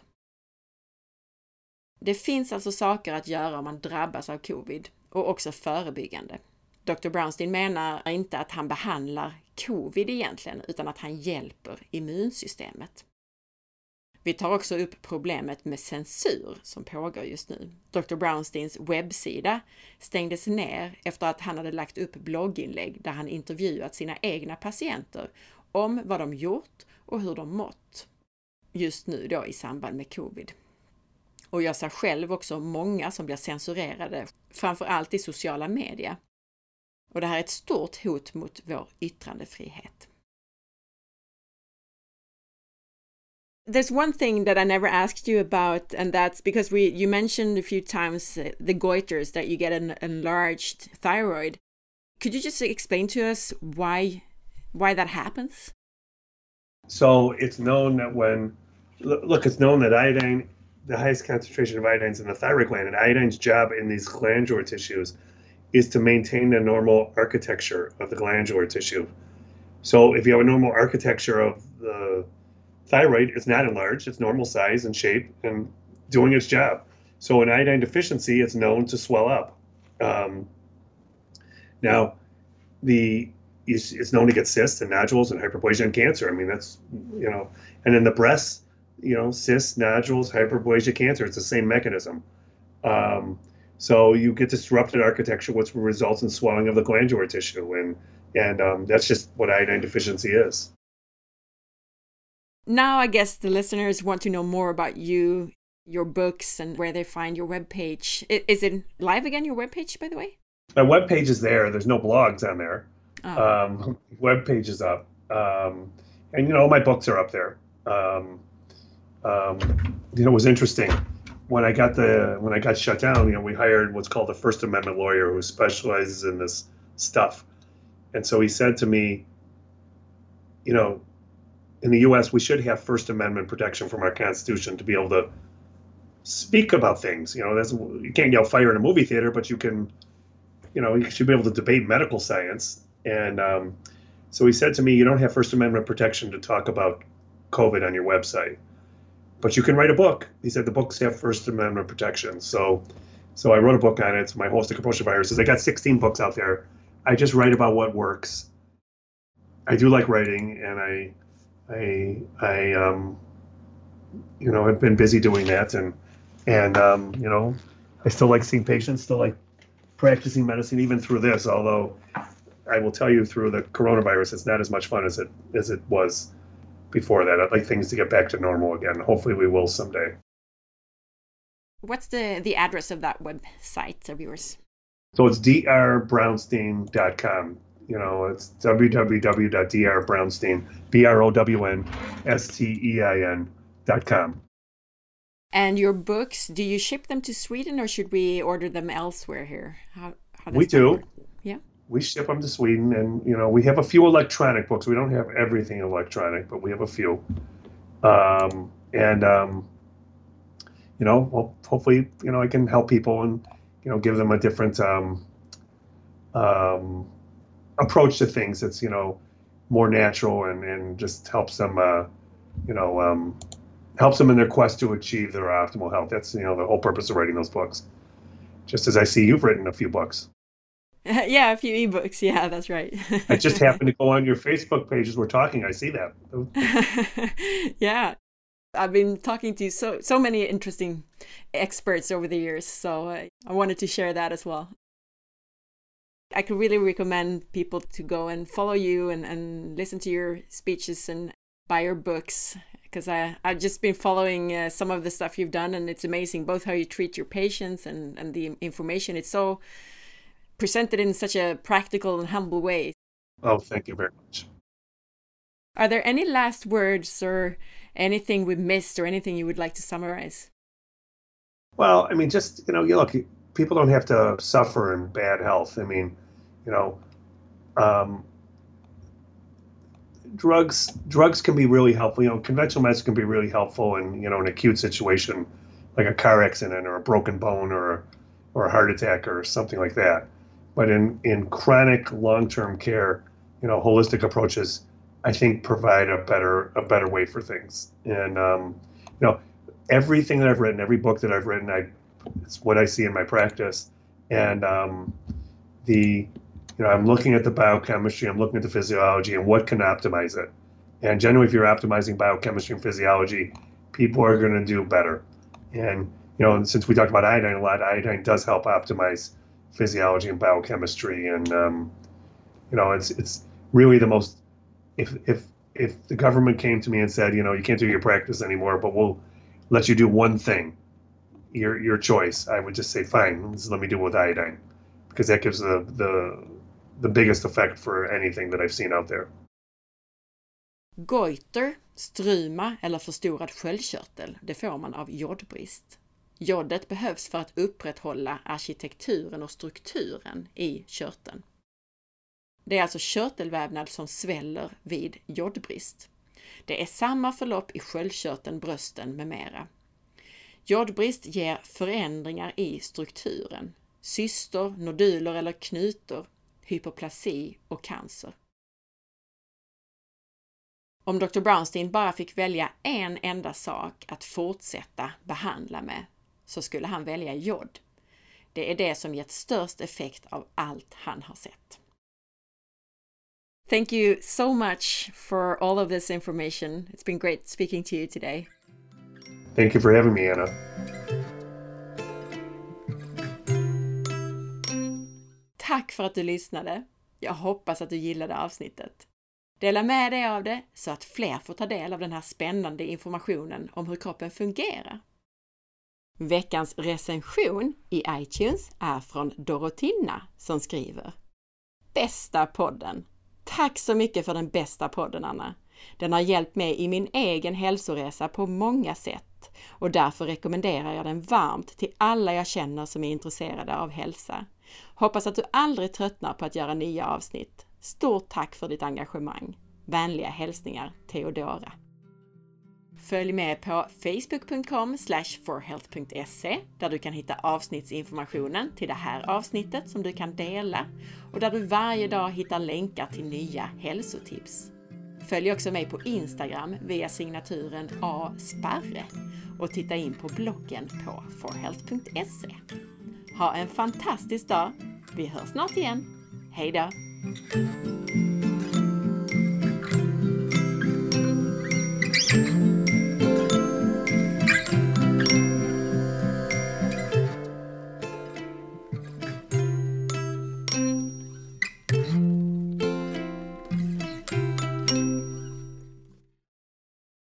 Det finns alltså saker att göra om man drabbas av covid och också förebyggande. doktor Brownstein menar inte att han behandlar covid egentligen utan att han hjälper immunsystemet. Vi tar också upp problemet med censur som pågår just nu. doktor Brownsteins webbsida stängdes ner efter att han hade lagt upp blogginlägg där han intervjuat sina egna patienter om vad de gjort och hur de mått. Just nu då i samband med covid. Och jag ser själv också många som blir censurerade, framförallt i sociala medier. Och det här är ett stort hot mot vår yttrandefrihet. There's one thing that I never asked you about, and that's because we you mentioned a few times uh, the goiters, that you get an enlarged thyroid. Could you just explain to us why why that happens? So it's known that when, look, it's known that iodine, the highest concentration of iodine is in the thyroid gland, and iodine's job in these glandular tissues is to maintain the normal architecture of the glandular tissue. So if you have a normal architecture of the thyroid, it's not enlarged, it's normal size and shape and doing its job. So in iodine deficiency, it's known to swell up. Um, now, the it's, it's known to get cysts and nodules and hyperplasia and cancer. I mean, that's, you know, and in the breasts, you know, cysts, nodules, hyperplasia, cancer, it's the same mechanism. Um, so you get disrupted architecture, which results in swelling of the glandular tissue. And, and um, that's just what iodine deficiency is. Now, I guess the listeners want to know more about you, your books, and where they find your webpage. Is it live again, your webpage, by the way? My webpage is there. There's no blogs on there. Oh. Um, webpage is up. Um, and, you know, all my books are up there. Um, um, you know, it was interesting. When I got the when I got shut down, you know, we hired what's called a First Amendment lawyer who specializes in this stuff. And so he said to me, you know, in the U S, we should have First Amendment protection from our Constitution to be able to speak about things. You know, that's, you can't yell fire in a movie theater, but you can, you know, you should be able to debate medical science. And um, so he said to me, you don't have First Amendment protection to talk about COVID on your website, but you can write a book. He said the books have First Amendment protection. So so I wrote a book on it. It's my holistic approach to viruses. I got sixteen books out there. I just write about what works. I do like writing, and I, I, I, um, you know, I've been busy doing that, and and um, you know, I still like seeing patients, still like practicing medicine, even through this. Although I will tell you, through the coronavirus, it's not as much fun as it as it was before that. I'd like things to get back to normal again. Hopefully, we will someday. What's the the address of that website of yours? So it's d r brownstein dot com. You know, it's w w w dot d r brownstein, B R O W N S T E I N dot com. And your books, do you ship them to Sweden or should we order them elsewhere here? How, how does we do. Work? Yeah. We ship them to Sweden, and, you know, we have a few electronic books. We don't have everything electronic, but we have a few. Um, and, um, you know, well, hopefully, you know, I can help people and, you know, give them a different um, um, approach to things that's, you know, more natural and, and just helps them, uh, you know, um, helps them in their quest to achieve their optimal health. That's, you know, the whole purpose of writing those books. Just as I see you've written a few books. Yeah, a few ebooks. Yeah, that's right. I just happened to go on your Facebook page as we're talking. I see that. Yeah. I've been talking to so so many interesting experts over the years, so uh, I wanted to share that as well. I could really recommend people to go and follow you and, and listen to your speeches and buy your books, because I, I've just been following uh, some of the stuff you've done, and it's amazing, both how you treat your patients and, and the information. It's so presented in such a practical and humble way. Oh, thank you very much. Are there any last words or anything we missed or anything you would like to summarize? Well, I mean, just, you know, you look, people don't have to suffer in bad health. I mean, you know, um, drugs drugs can be really helpful. You know, conventional medicine can be really helpful in, you know, an acute situation like a car accident or a broken bone or or a heart attack or something like that. But in, in chronic long-term care, you know, holistic approaches, I think, provide a better a better way for things. And um, you know, everything that I've written, every book that I've written, I it's what I see in my practice. And um, the you know, I'm looking at the biochemistry, I'm looking at the physiology, and what can optimize it. And generally, if you're optimizing biochemistry and physiology, people are going to do better. And you know, and since we talked about iodine a lot, iodine does help optimize physiology and biochemistry. And um, you know, it's it's really the most. If if if the government came to me and said, you know, you can't do your practice anymore, but we'll let you do one thing, your your choice, I would just say, fine, just let me do it with iodine, because that gives the the the biggest effect for anything that I've seen out there. Goiter, struma eller förstorad sköldkörtel, det får man av jodbrist. Jodet behövs för att upprätthålla arkitekturen och strukturen i körteln. Det är alltså körtelvävnad som sväller vid jodbrist. Det är samma förlopp i sköldkörteln, brösten med mera. Jodbrist ger förändringar i strukturen, cystor, noduler eller knutor, hyperplasi och cancer. Om doktor Brownstein bara fick välja en enda sak att fortsätta behandla med, så skulle han välja jod. Det är det som gett störst effekt av allt han har sett. Thank you so much for all of this information. It's been great speaking to you today. Thank you for having me, Anna. Tack för att du lyssnade. Jag hoppas att du gillade avsnittet. Dela med dig av det så att fler får ta del av den här spännande informationen om hur kroppen fungerar. Veckans recension i iTunes är från Dorotina som skriver: Bästa podden! Tack så mycket för den bästa podden, Anna. Den har hjälpt mig i min egen hälsoresa på många sätt och därför rekommenderar jag den varmt till alla jag känner som är intresserade av hälsa. Hoppas att du aldrig tröttnar på att göra nya avsnitt. Stort tack för ditt engagemang. Vänliga hälsningar, Theodora. Följ med på facebook punkt com slash forhealth punkt se där du kan hitta avsnittsinformationen till det här avsnittet som du kan dela och där du varje dag hittar länkar till nya hälsotips. Följ också mig på Instagram via signaturen A Sparre och titta in på bloggen på forhealth punkt se. Ha en fantastisk dag. Vi hörs snart igen. Hej då!